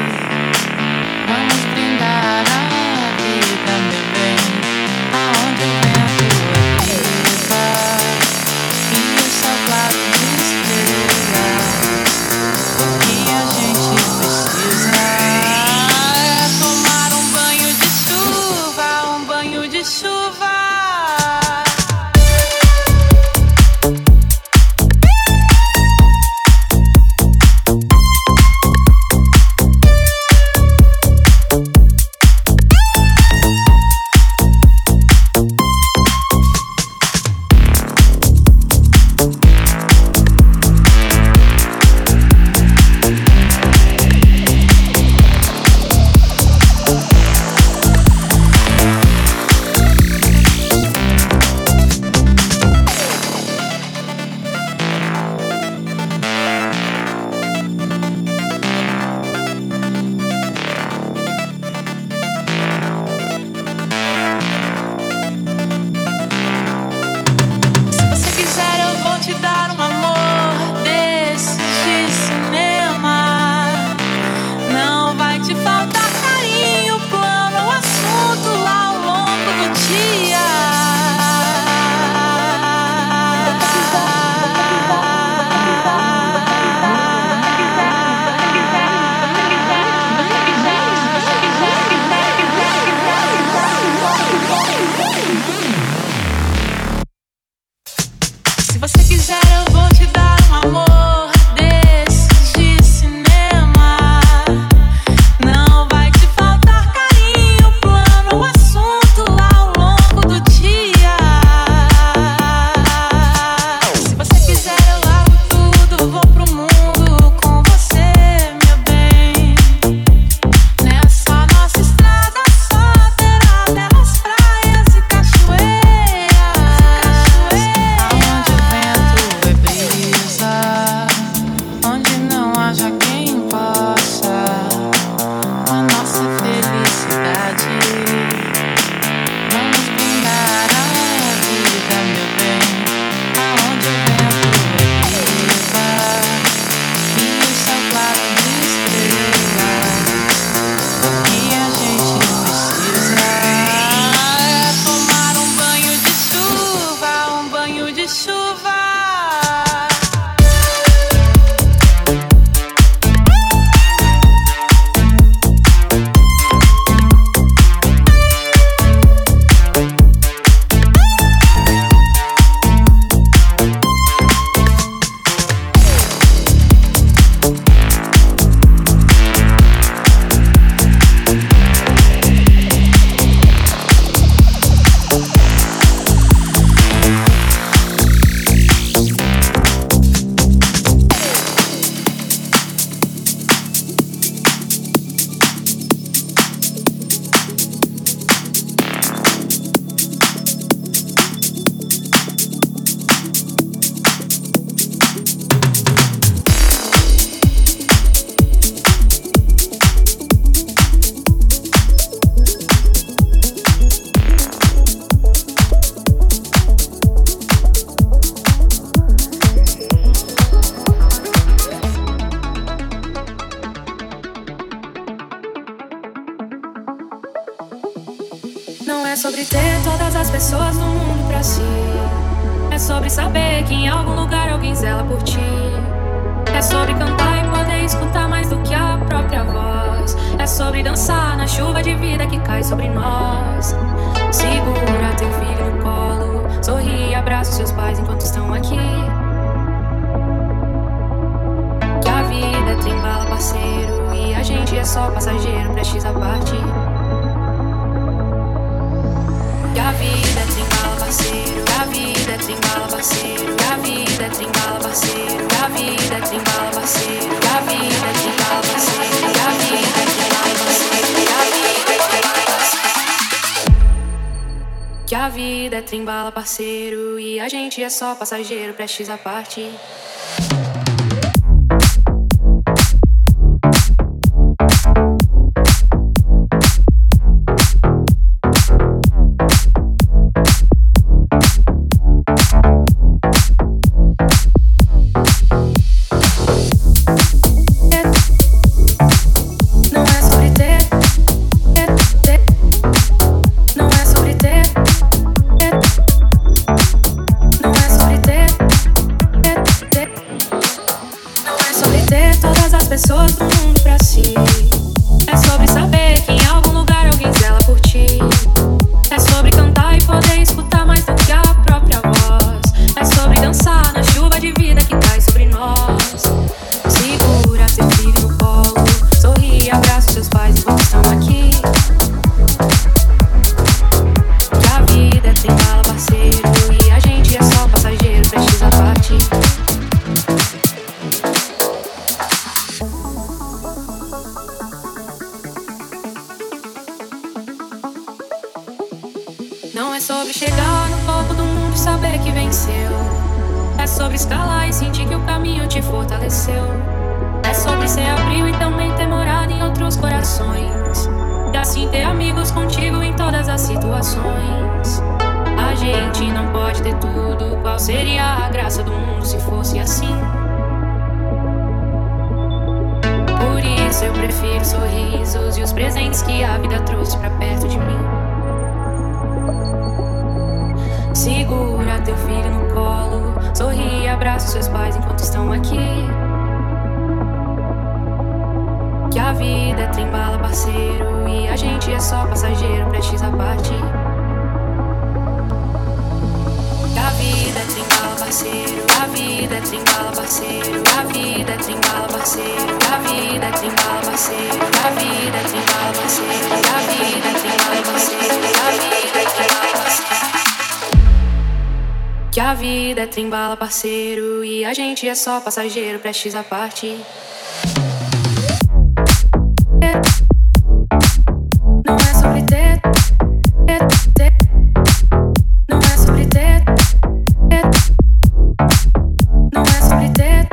Vamos brindar a vida, meu bem. Aonde o vento é brisa e o céu claro de estrelas. O que a gente precisa é tomar um banho de chuva, um banho de chuva. Se você quiser eu vou te dar um amor desses de cinema. Não vai te faltar carinho, plano, assunto ao longo do dia. Se você quiser eu vou te dar um amor desses de cinema. Não vai te faltar carinho, plano, assunto ao longo do dia. Se você quiser eu largo tudo, vou pro mundo com você, meu bem. Nessa nossa estrada só terá belas praias e cachoeiras. Aonde o vento é brisa, onde não haja quem possa com a nossa felicidade. Vamos brindar a vida, meu bem. Aonde o vento é brisa e o céu claro de estrelas. O que a gente precisa é tomar um banho de chuva, um banho de chuva. Não é sobre ter todas as pessoas no mundo pra si. É sobre saber que em algum lugar alguém zela por ti. É sobre cantar e poder escutar mais do que a própria voz. É sobre dançar na chuva de vida que cai sobre nós. Segura teu filho no colo, sorri e abraça os seus pais enquanto estão aqui. Que a vida é trem-bala, parceiro, e a gente é só passageiro prestes a partir. Que a vida a vida é trem-bala, parceiro, e a gente é só passageiro, prestes a partir. Pessoas do mundo pra si. É sobre saber que em algum lugar alguém zela por ti. É sobre cantar e poder escutar mais do que a própria voz. É sobre dançar na chuva de vida que cai sobre nós. Segura teu filho no colo, sorri e abraça seus pais enquanto estão aqui. Que a vida é trem-bala, parceiro, e a gente é só passageiro, prestes a partir. Não é sobre chegar no topo do mundo e saber que venceu. É sobre escalar e sentir que o caminho te fortaleceu. É sobre ser abril e também ter morado em outros corações. E assim ter amigos contigo em todas as situações. A gente não pode ter tudo. Qual seria a graça do mundo se fosse assim? Por isso eu prefiro sorrisos e os presentes que a vida trouxe pra perto de mim. Segura teu filho no colo, sorri e abraça seus pais enquanto estão aqui. Que a vida é trem-bala, parceiro, e a gente é só passageiro, prestes a partir. Que a vida é trem-bala, parceiro, a vida é trem-bala, parceiro, a vida é trem-bala, parceiro, a vida é trem-bala, parceiro, a vida é trem-bala, parceiro, a vida é trem-bala, parceiro, a vida é trem-bala, parceiro. Que a vida é trem-bala, parceiro, e a gente é só passageiro, prestes a partir. Não é sobre ter, ter, ter. Não é sobre ter, ter. Não é sobre ter.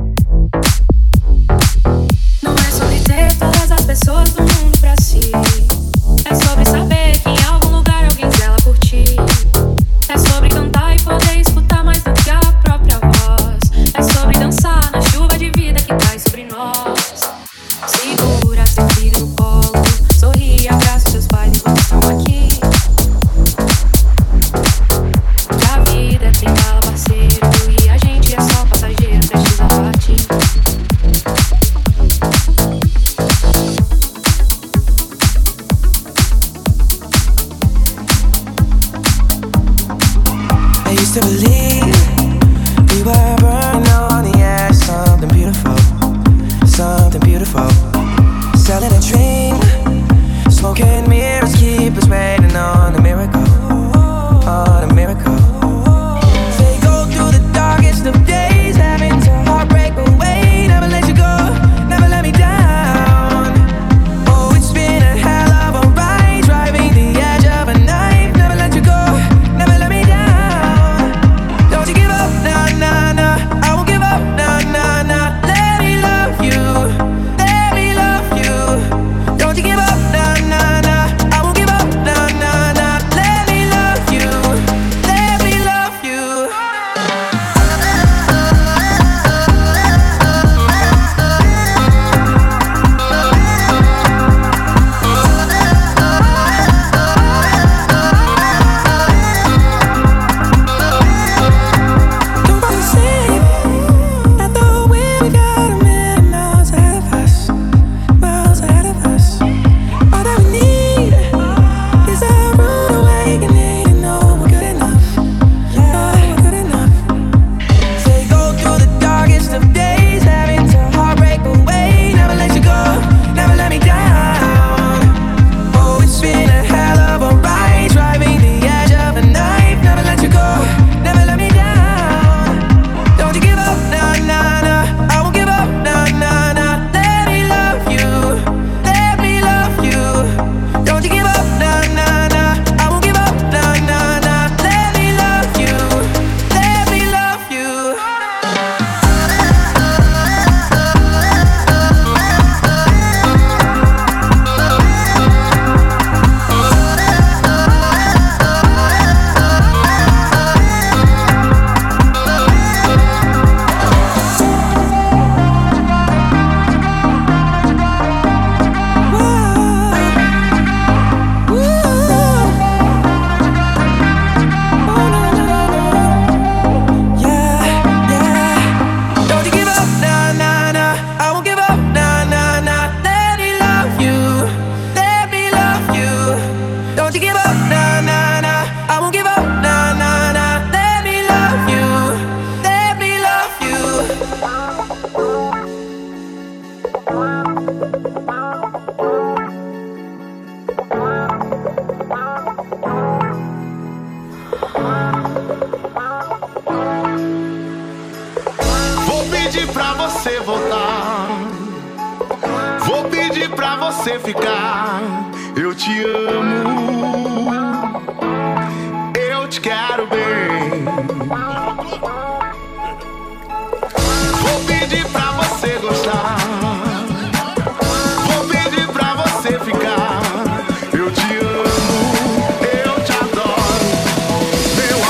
Não é sobre ter todas as pessoas do mundo pra si. É sobre saber que em algum lugar alguém zela por ti. É sobre cantar e poder escutar mais do que a própria voz. É sobre dançar na chuva de vida que cai sobre nós. Segura teu filho no colo, sorri e abraça seus pais enquanto estão aqui. Que a vida é trem-bala, parceiro, e a gente é só passageiro, prestes a partir. I used to believe we were burning on the edge, something beautiful, something beautiful. Selling a dream, smoking mirrors keep us waiting on a miracle, on a miracle. They go through the darkest of days, having to heartbreak away. Never let you go, never let me down. Oh, it's been a hell of a ride, driving the edge of a knife. Never let you go, never let me down. Don't you give up, nah, nah, nah. pra você voltar. Vou pedir pra você ficar. Eu te amo, eu te quero bem. Vou pedir pra você gostar. Vou pedir pra você ficar. Eu te amo, eu te adoro, meu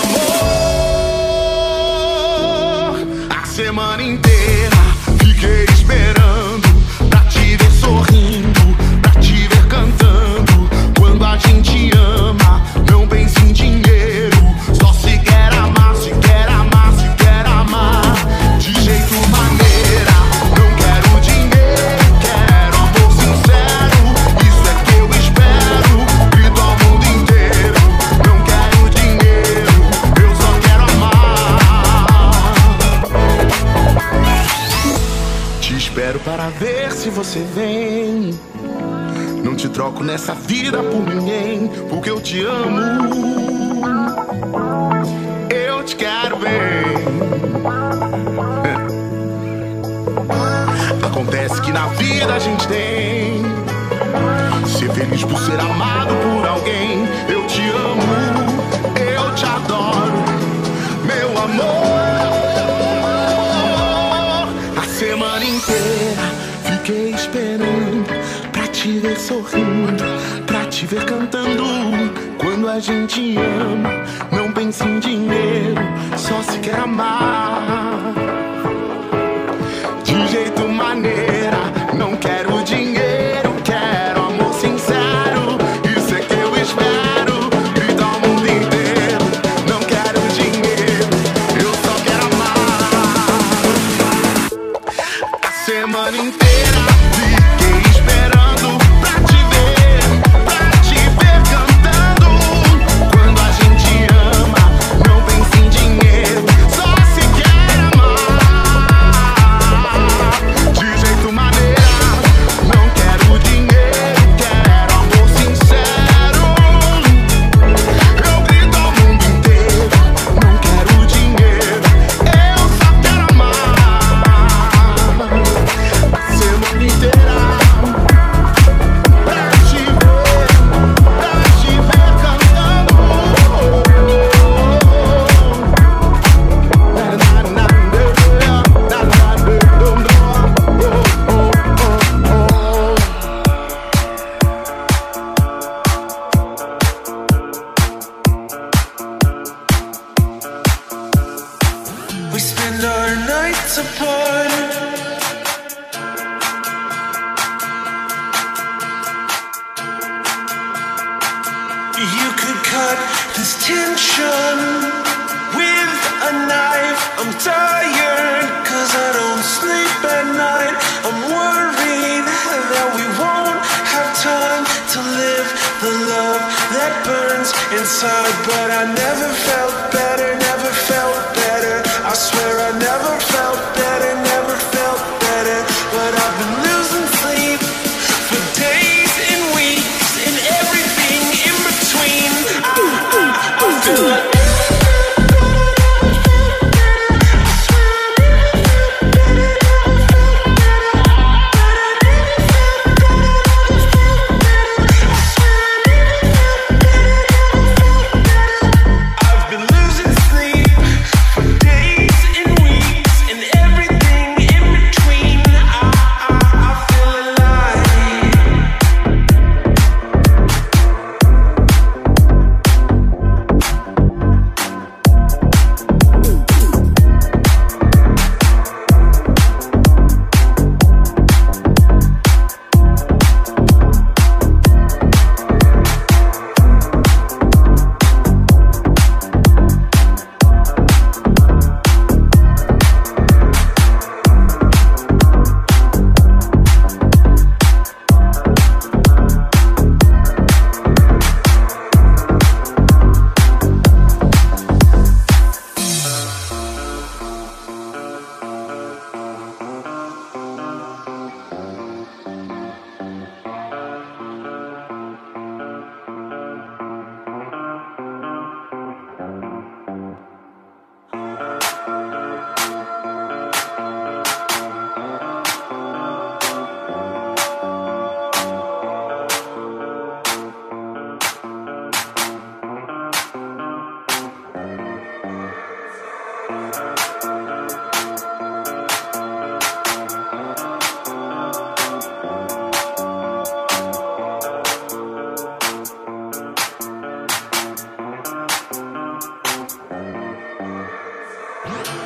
amor. A semana inteira fiquei esperando pra te ver sorrindo, pra te ver cantando. Quando a gente ama, não pensa em dinheiro. Só se quer amar, se quer amar, se quer amar. De jeito maneira, não quero dinheiro, quero amor sincero. Isso é que eu espero, grito ao mundo inteiro. Não quero dinheiro, eu só quero amar. Te espero para ver se você vem. Não te troco nessa vida por ninguém, porque eu te amo, eu te quero bem. Acontece que na vida a gente tem ser feliz por ser amado por alguém. Eu te amo, eu te adoro, meu amor. A semana inteira fiquei esperando pra te ver sorrindo, pra te ver cantando. Quando a gente ama, não pensa em dinheiro, só se quer amar. De jeito maneira, não quero dinheiro, quero amor sincero. Isso é que eu espero, grito ao mundo inteiro. Não quero dinheiro, eu só quero amar. A semana inteira fiquei esperando pra te ver, pra te ver cantando. Quando a gente ama, não pensa em dinheiro, só se quer amar. De jeito maneira, não quero dinheiro, quero amor sincero. Eu grito ao mundo inteiro, não quero dinheiro, eu só quero amar. A semana inteira pra te ver, pra te ver cantando. Na, na, na, na, na, We spend our nights apart. You could cut this tension with a knife. I'm tired, cause I don't sleep at night. I'm worried that we won't have time to live the love that burns inside. But I never felt better, never felt better. I swear I never felt better, never felt better. But I've been losing sleep for days and weeks and everything in between. I, I, I feel like I've been losing sleep for days and weeks and everything in between. I, I, I feel alive.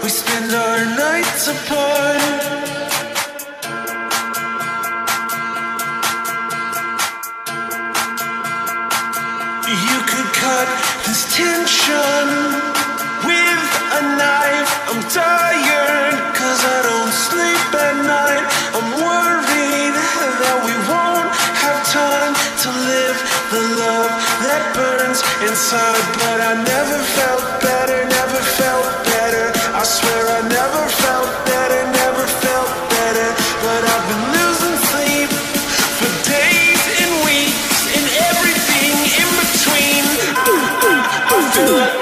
We spend our nights apart. You could cut this tension with a knife. I'm tired, cause I don't sleep at night. I'm worried that we won't have time to live the love that burns inside. But I never felt better, never felt better. I swear I never felt better, never felt better. But I've been losing sleep for days and weeks and everything in between. I, I, I feel like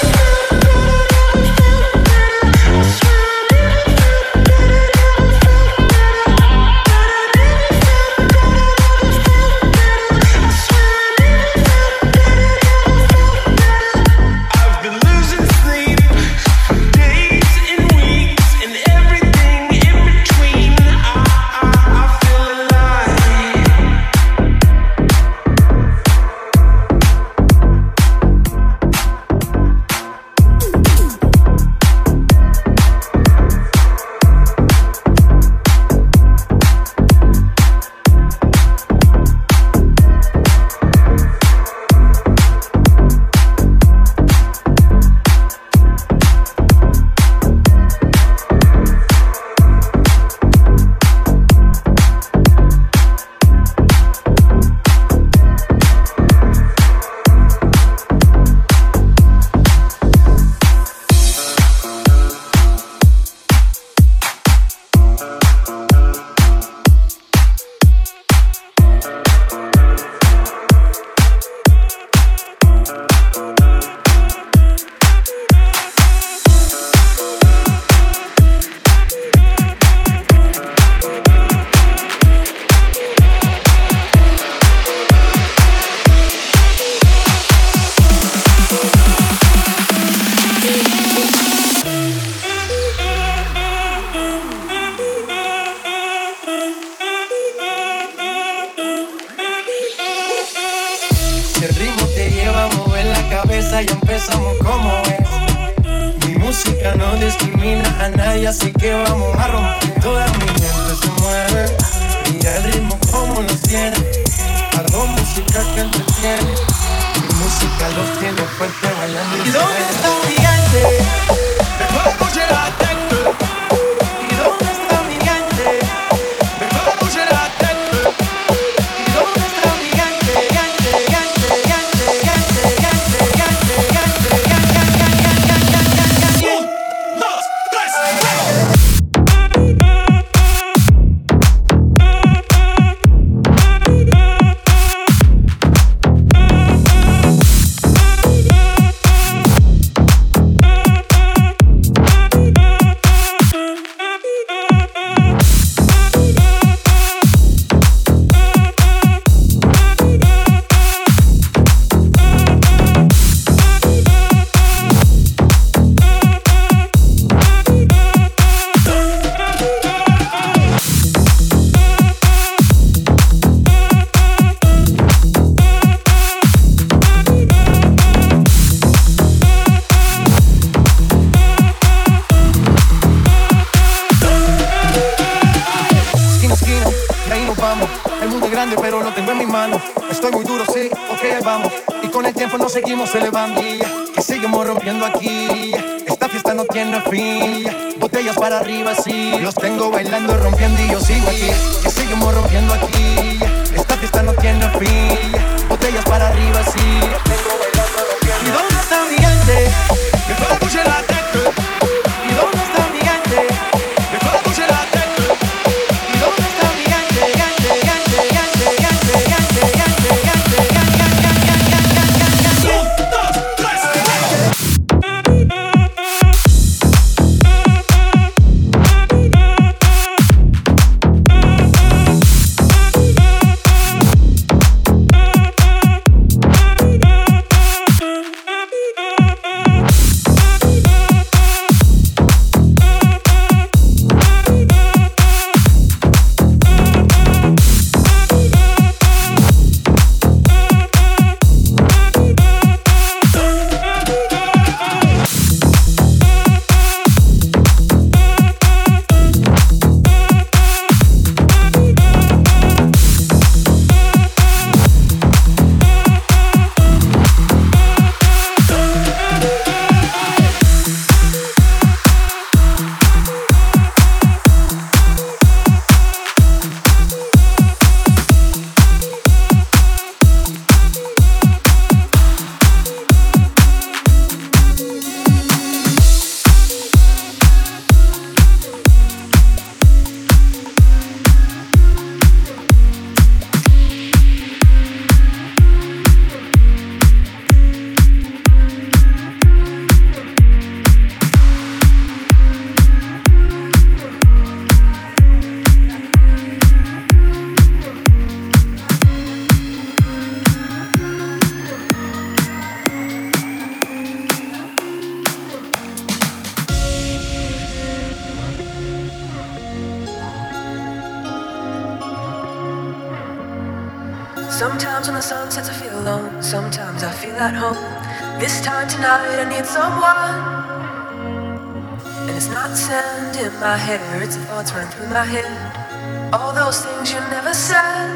seguimos elevando, que seguimos rompiendo aquí. Esta fiesta no tiene fin. Botellas para arriba, sí. Los tengo bailando, rompiendo y yo sigo aquí. Que seguimos rompiendo aquí. Esta fiesta no tiene fin. Botellas para arriba, sí. Los tengo bailando, rompiendo. ¿Y dónde está mi gente? Que toda escuche la tecla. ¿Y dónde está mi gente? Que toda escuche la tecla. ¿Y dónde está mi gente? Gente, gente, gente, gente, gente, gente, gente, gente. Mm-hmm. Sometimes when the sun sets I feel alone, sometimes I feel at home. This time tonight I need someone. And it's not the sand in my hair, it's the thoughts running through my head. All those things you never said.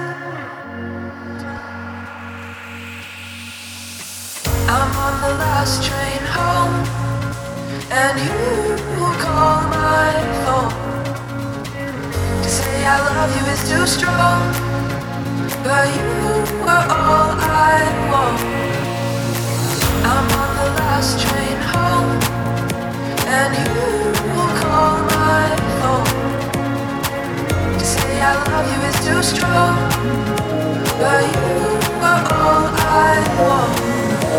I'm on the last train home, and you call my phone. To say I love you is too strong, but you were all I want. I'm on the last train home, and you call my phone. To say I love you is too strong, but you were all I want.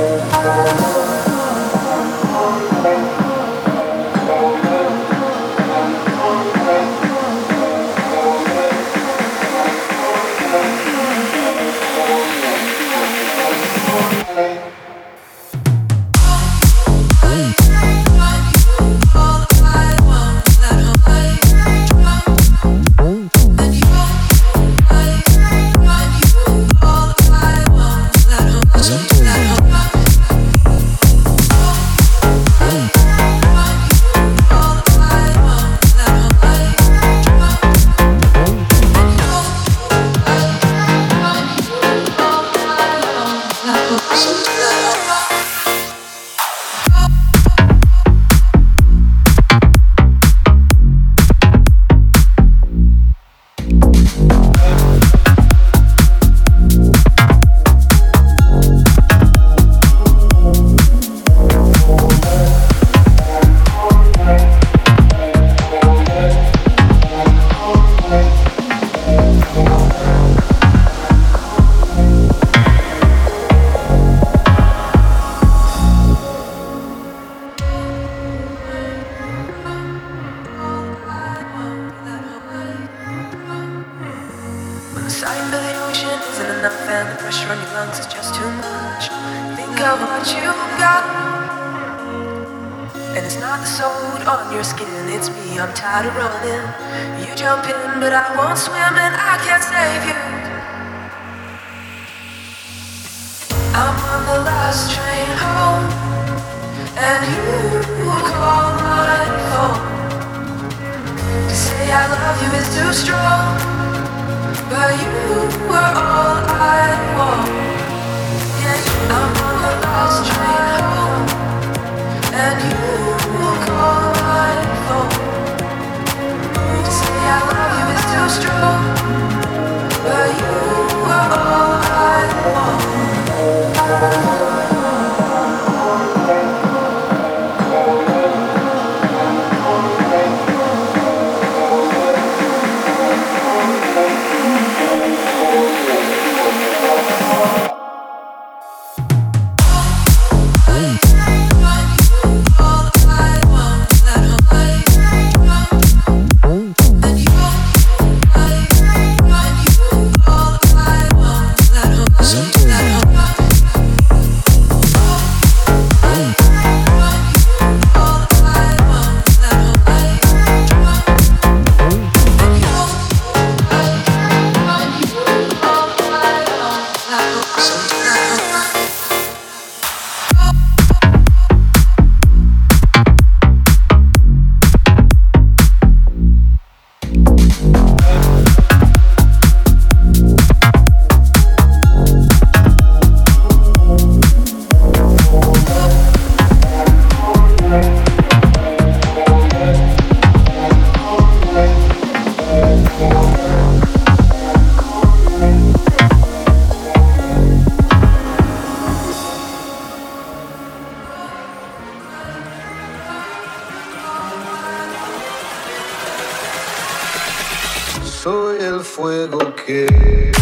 Soy el fuego que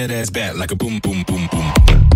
that ass back like a boom, boom, boom, boom.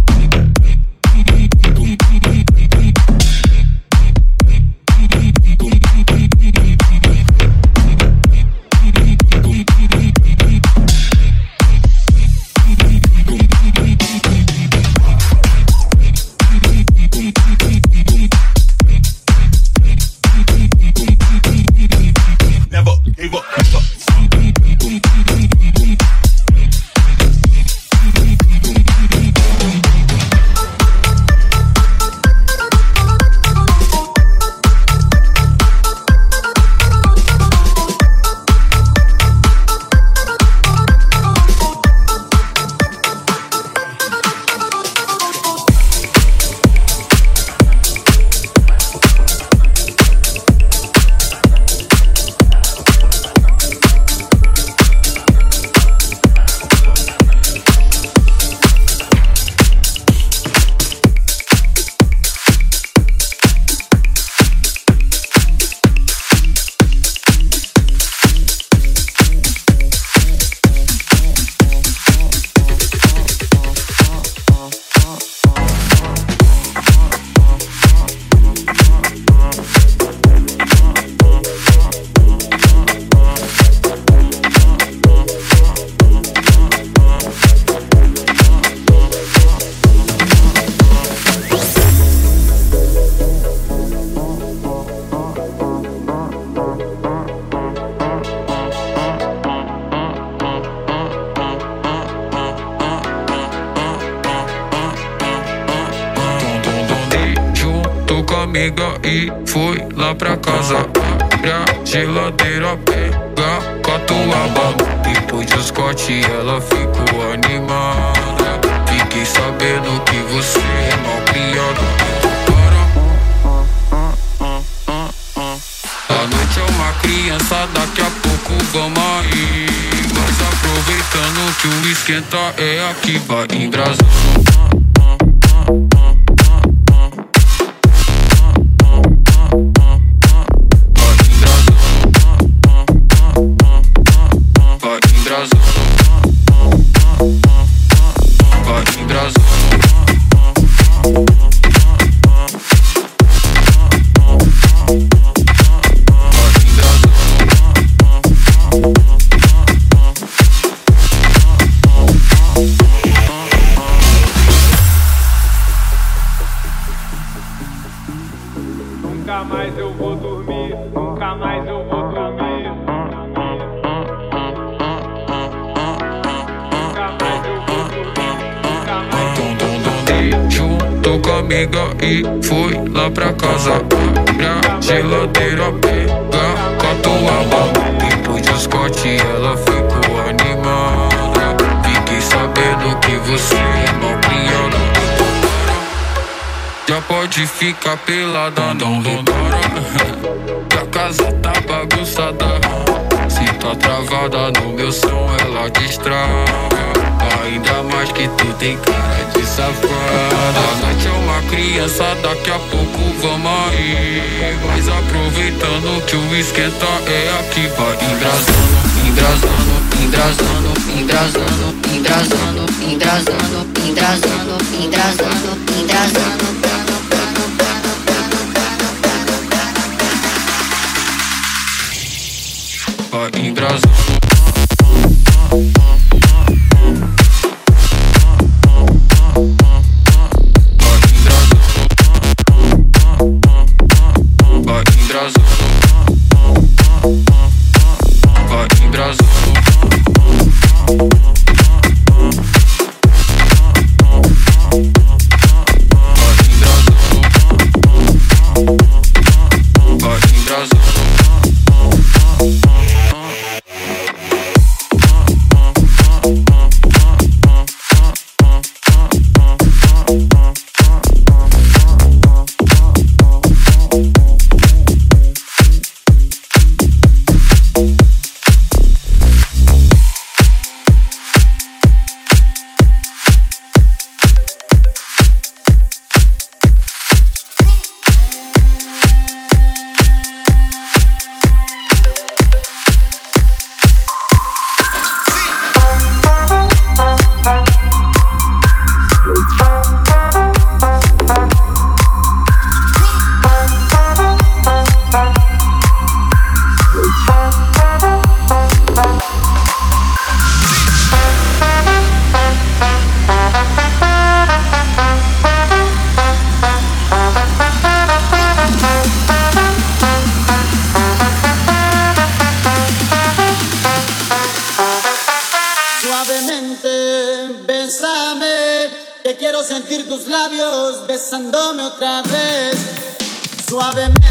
amiga e foi lá pra casa. Abre a geladeira, pega catuaba. Depois de Scott ela ficou animada. Fiquei sabendo que você é mal criada. A noite é uma criança, daqui a pouco vamos aí. Mas aproveitando que o esquenta é aqui, vai embrasando. Nunca mais eu vou dormir, nunca mais eu vou dormir. Nunca mais eu vou dormir, nunca mais eu vou dormir. Juntou com a amiga e foi lá pra casa. Abre a geladeira, pega catuaba. Depois de Scott ela ficou animada. Fiquei sabendo que você é mal criada. Já pode ficar pelada, não demora. Que a casa tá bagunçada. Se tá travada no meu som, ela destrava. Ainda mais que tu tem cara de safada. A noite é uma criança, daqui a pouco vamos aí. Mas aproveitando que o esquenta é aqui, vai embrasando, embrasando, embrasando, embrasando, embrasando, embrasando, embrasando, embrasando, embrasando. Vai embrasando. quiero sentir tus labios besándome otra vez, suavemente.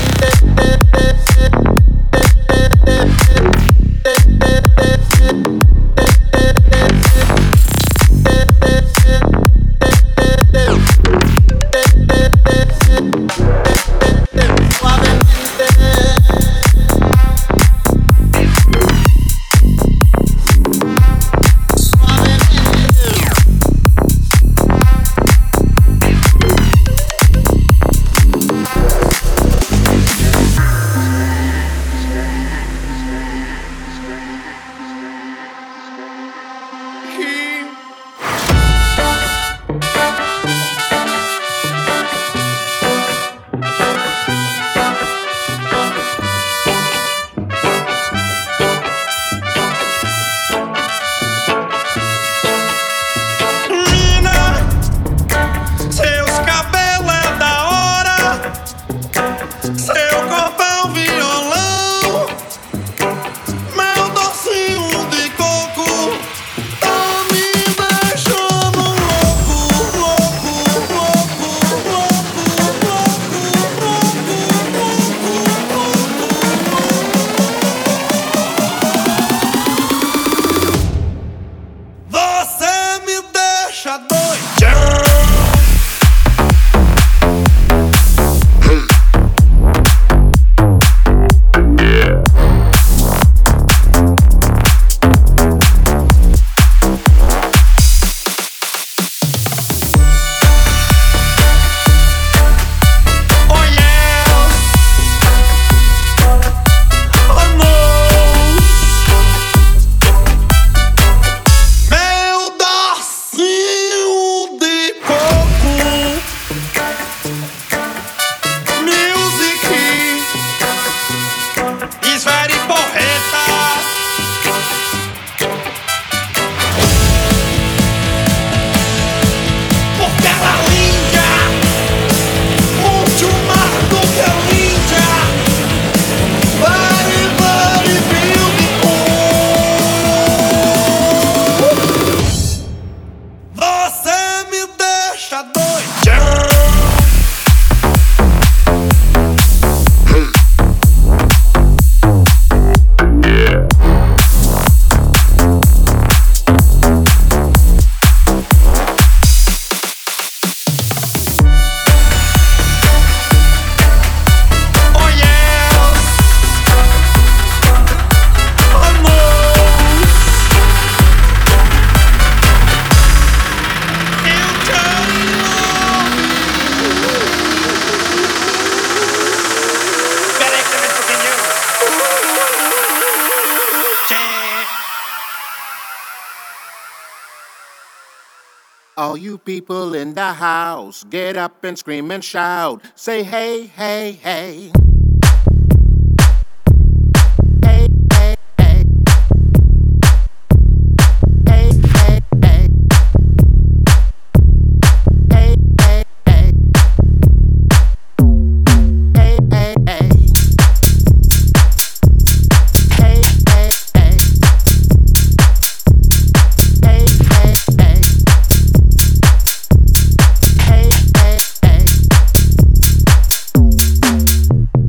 All you people in the house, get up and scream and shout. Say hey, hey, hey. Hey, hey, hey. Hey, hey, hey. Hey, hey, hey. Hey, hey, hey. Hey, hey, hey. Hey, hey, hey. Hey, hey, hey.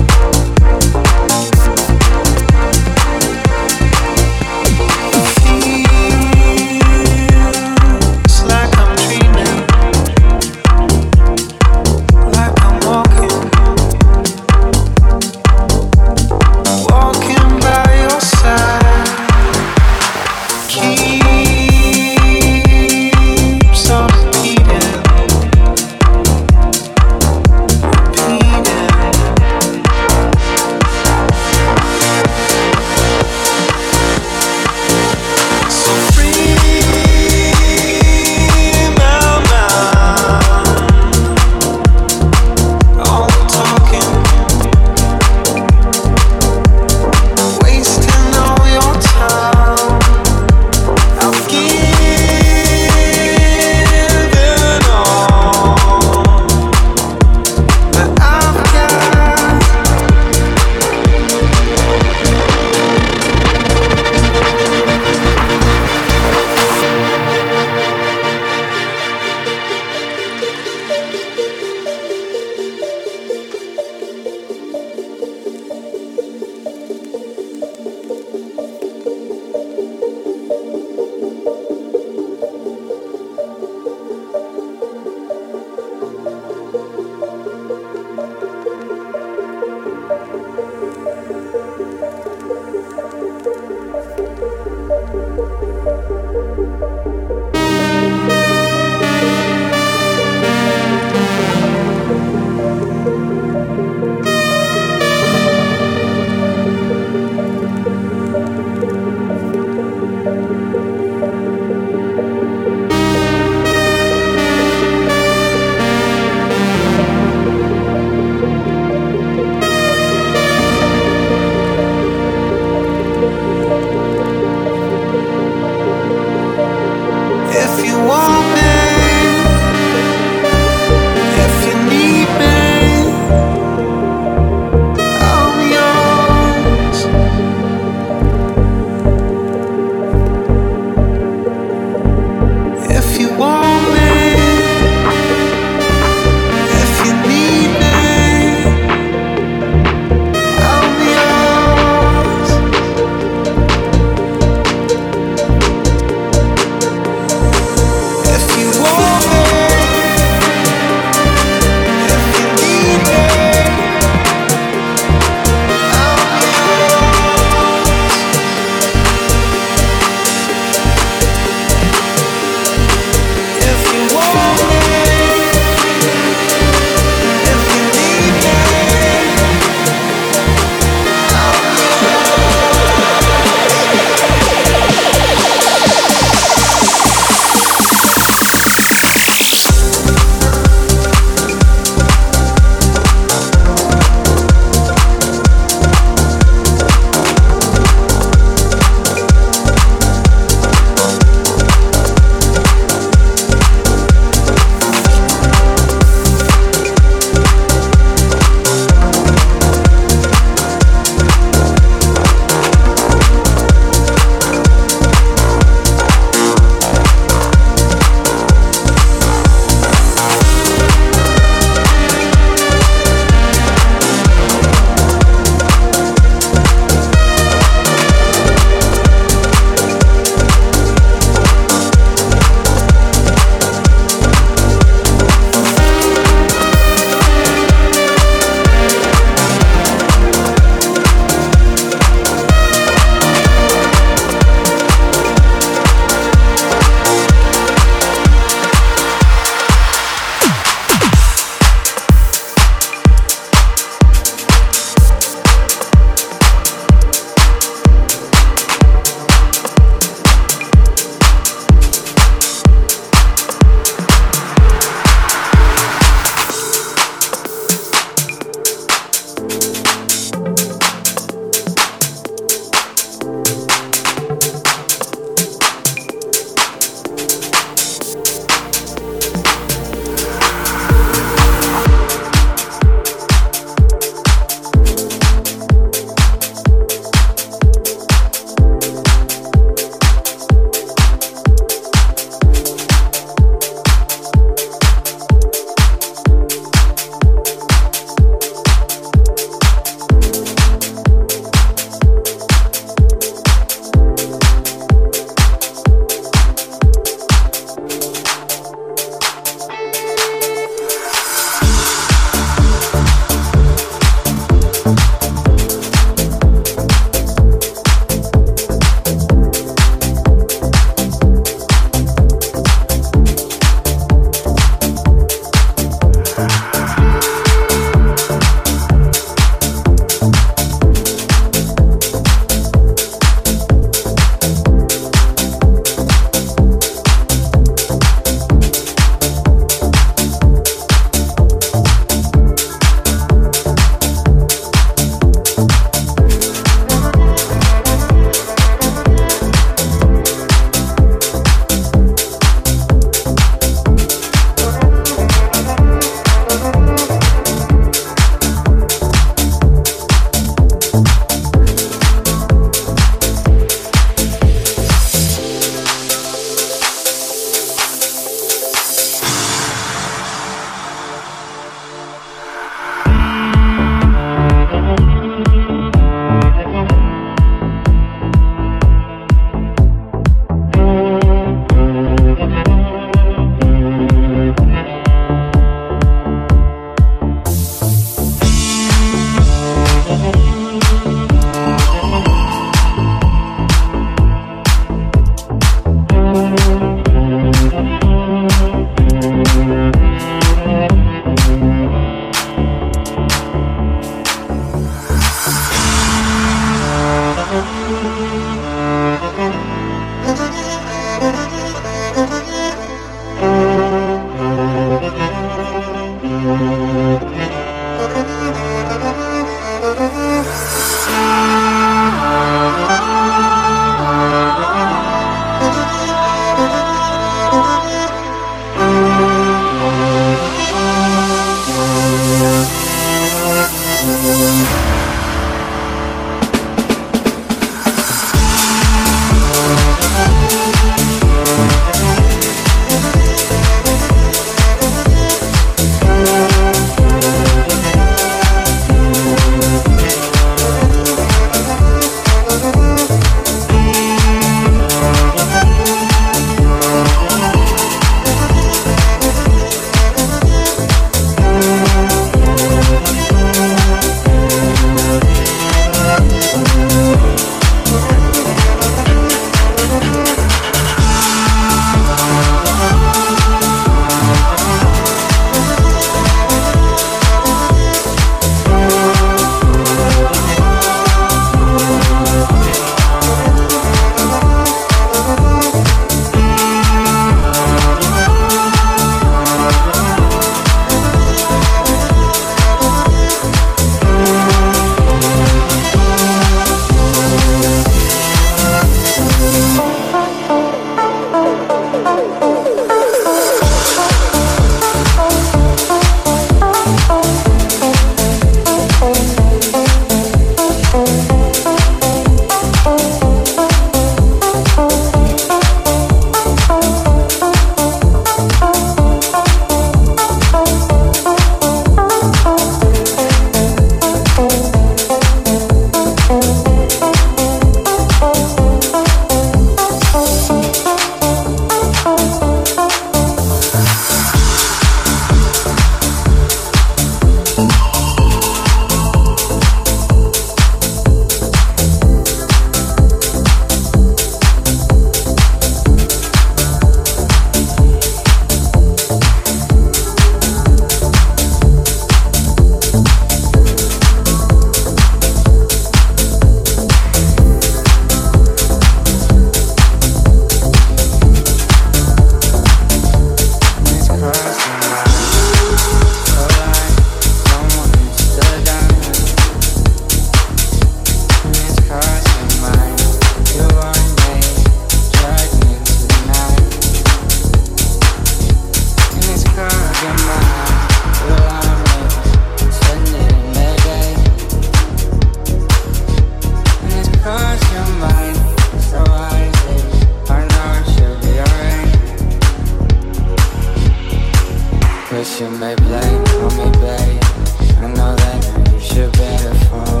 Cause you may blame on me, babe. I know that you should better fall.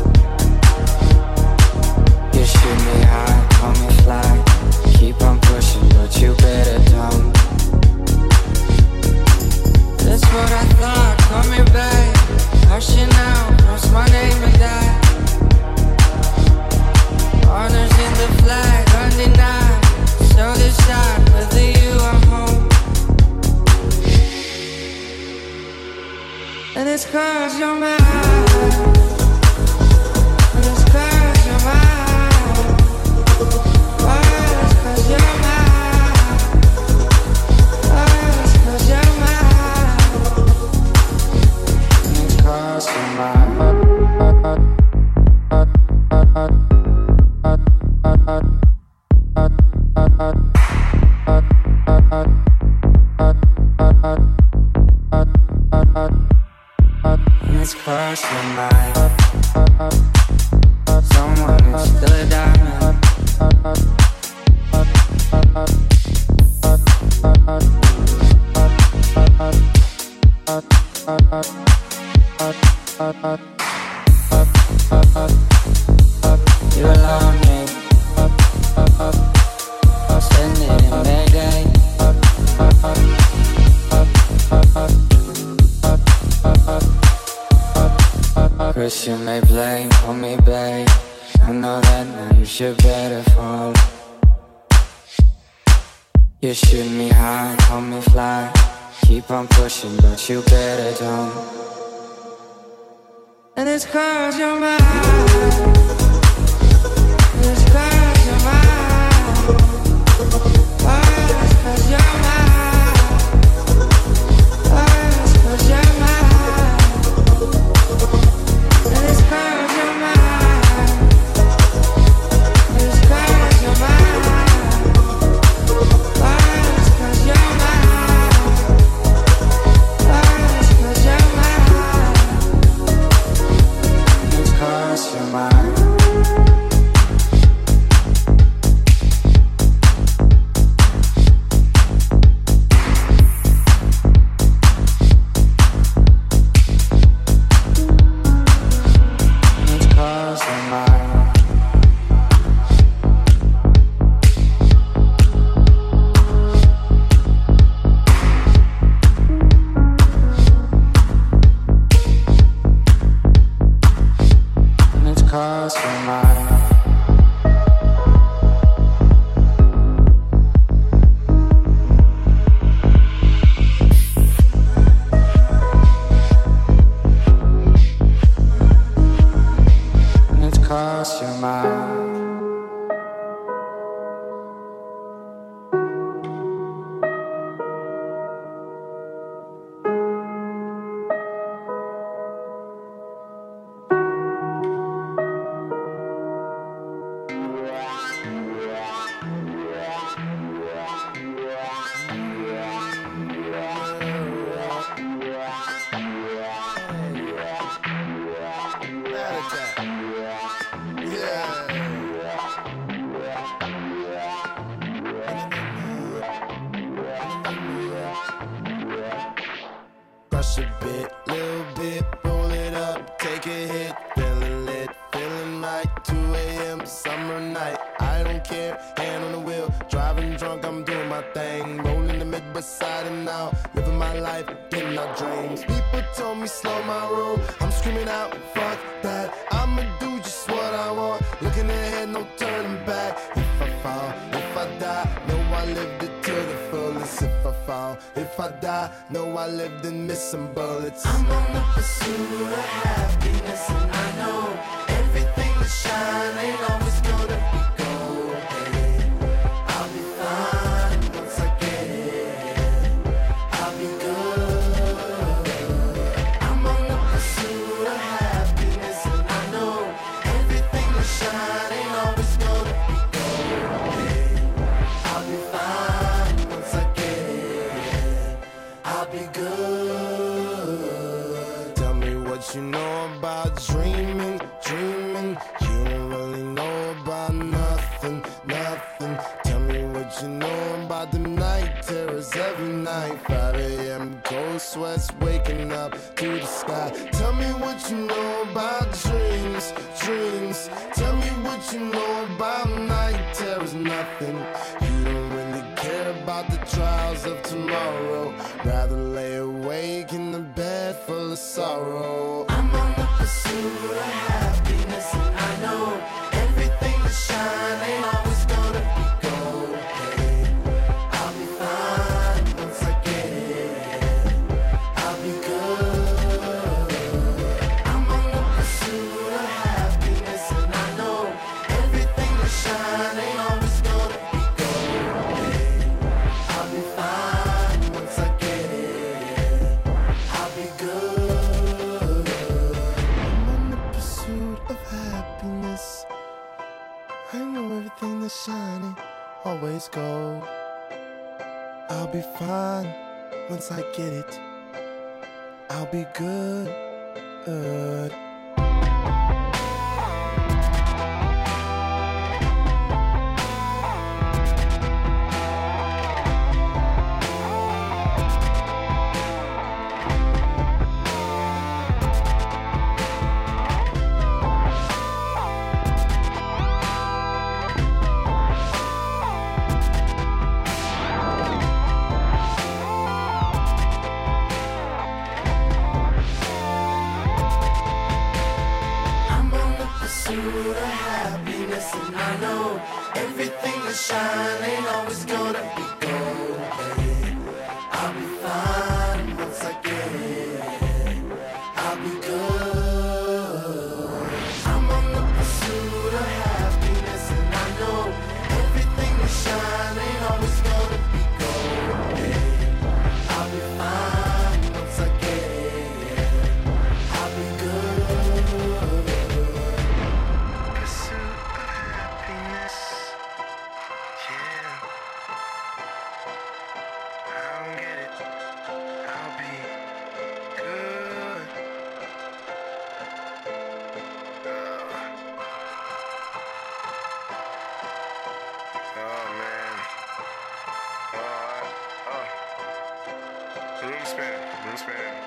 You shoot me high, call me fly. Keep on pushing, but you better don't. That's what I thought, call me babe. Hush it now, cross my name and die. Honors in the flag, undenied. So decide whether you are home. And it's cause you're mine. And it's cause you're mine. Oh, it's cause you're mine. Oh, it's cause you're mine. And it's cause you're mine. And it's cause you're mine. Someone is still a diamond. You alone me. Send it in Mayday. Cause you may blame on me, babe. I know that now you should better fall. You shoot me high, call me fly. Keep on pushing, but you better don't. And it's cause you're mine. It's cause you're mine. Oh, it's cause you're mine. Oh, it's cause you're mine. And it's cause you're mine. It's cause you're mine. Oh, it's cause you're mine. Oh, it's cause you're mine. It's cause you're mine. Cause you're mine. And it's cause you're mine. Crush a bit, little bit, roll it up, take a hit, feeling lit, feeling right, two a.m. summer night, I don't care, hand on the wheel, driving drunk, I'm doing my thing, rolling the mid beside and now, living my life, getting our dreams, people told me slow my roll, I'm screaming out, fuck that, I'ma do just what I want, looking ahead, no turning back, if I fall, if I die, know I lived it to the fullest, if I fall, if I die, know I lived in missing bullets. I'm on the pursuit of happiness and I know everything that shine ain't always gonna be gold. Hey, I'll be fine once I get it. I'll be good. I'm on the pursuit of happiness and I know everything that shine ain't always gonna be gold. Hey, I'll be fine once I get it. I'll be good. Tell me what you know about dreaming, dreaming. You don't really know terrors every night. five a.m. cold sweats waking up to the sky. Tell me what you know about dreams, dreams. Tell me what you know about night terrors. Nothing. You don't really care about the trials of tomorrow. Rather lay awake in the bed full of sorrow. I'm on the pursuit of happiness, and I know everything that shine ain't always gonna be gold. Hey, I'll be fine once I get it. I'll be good. I'm on the pursuit of happiness, and I know everything that shine ain't always gonna be gold. Hey, I'll be fine once I get it. I'll be good. I'm on the pursuit of happiness. I know everything that's shining always gold. I'll be fine once I get it. I'll be good. I'm on the pursuit of happiness, and I know everything that shine ain't always gonna be gold. Hey, I'll be fine once I get it. I'll be good. I'm on the pursuit of happiness, and I know everything that shine ain't always gonna be gold. Hey, I'll be fine once I get it. I'll be good. Pursuit of happiness. Yeah. I don't get it. I'll be good. Oh man. Oh, oh. Room spinning. Room spinning.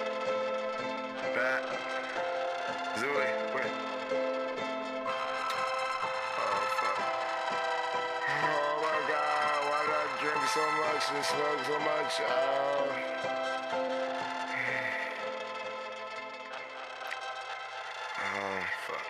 Bat. Zooey. Wait. Oh fuck. Oh my god. Why did I drink so much and smoke so much? Oh. Oh fuck.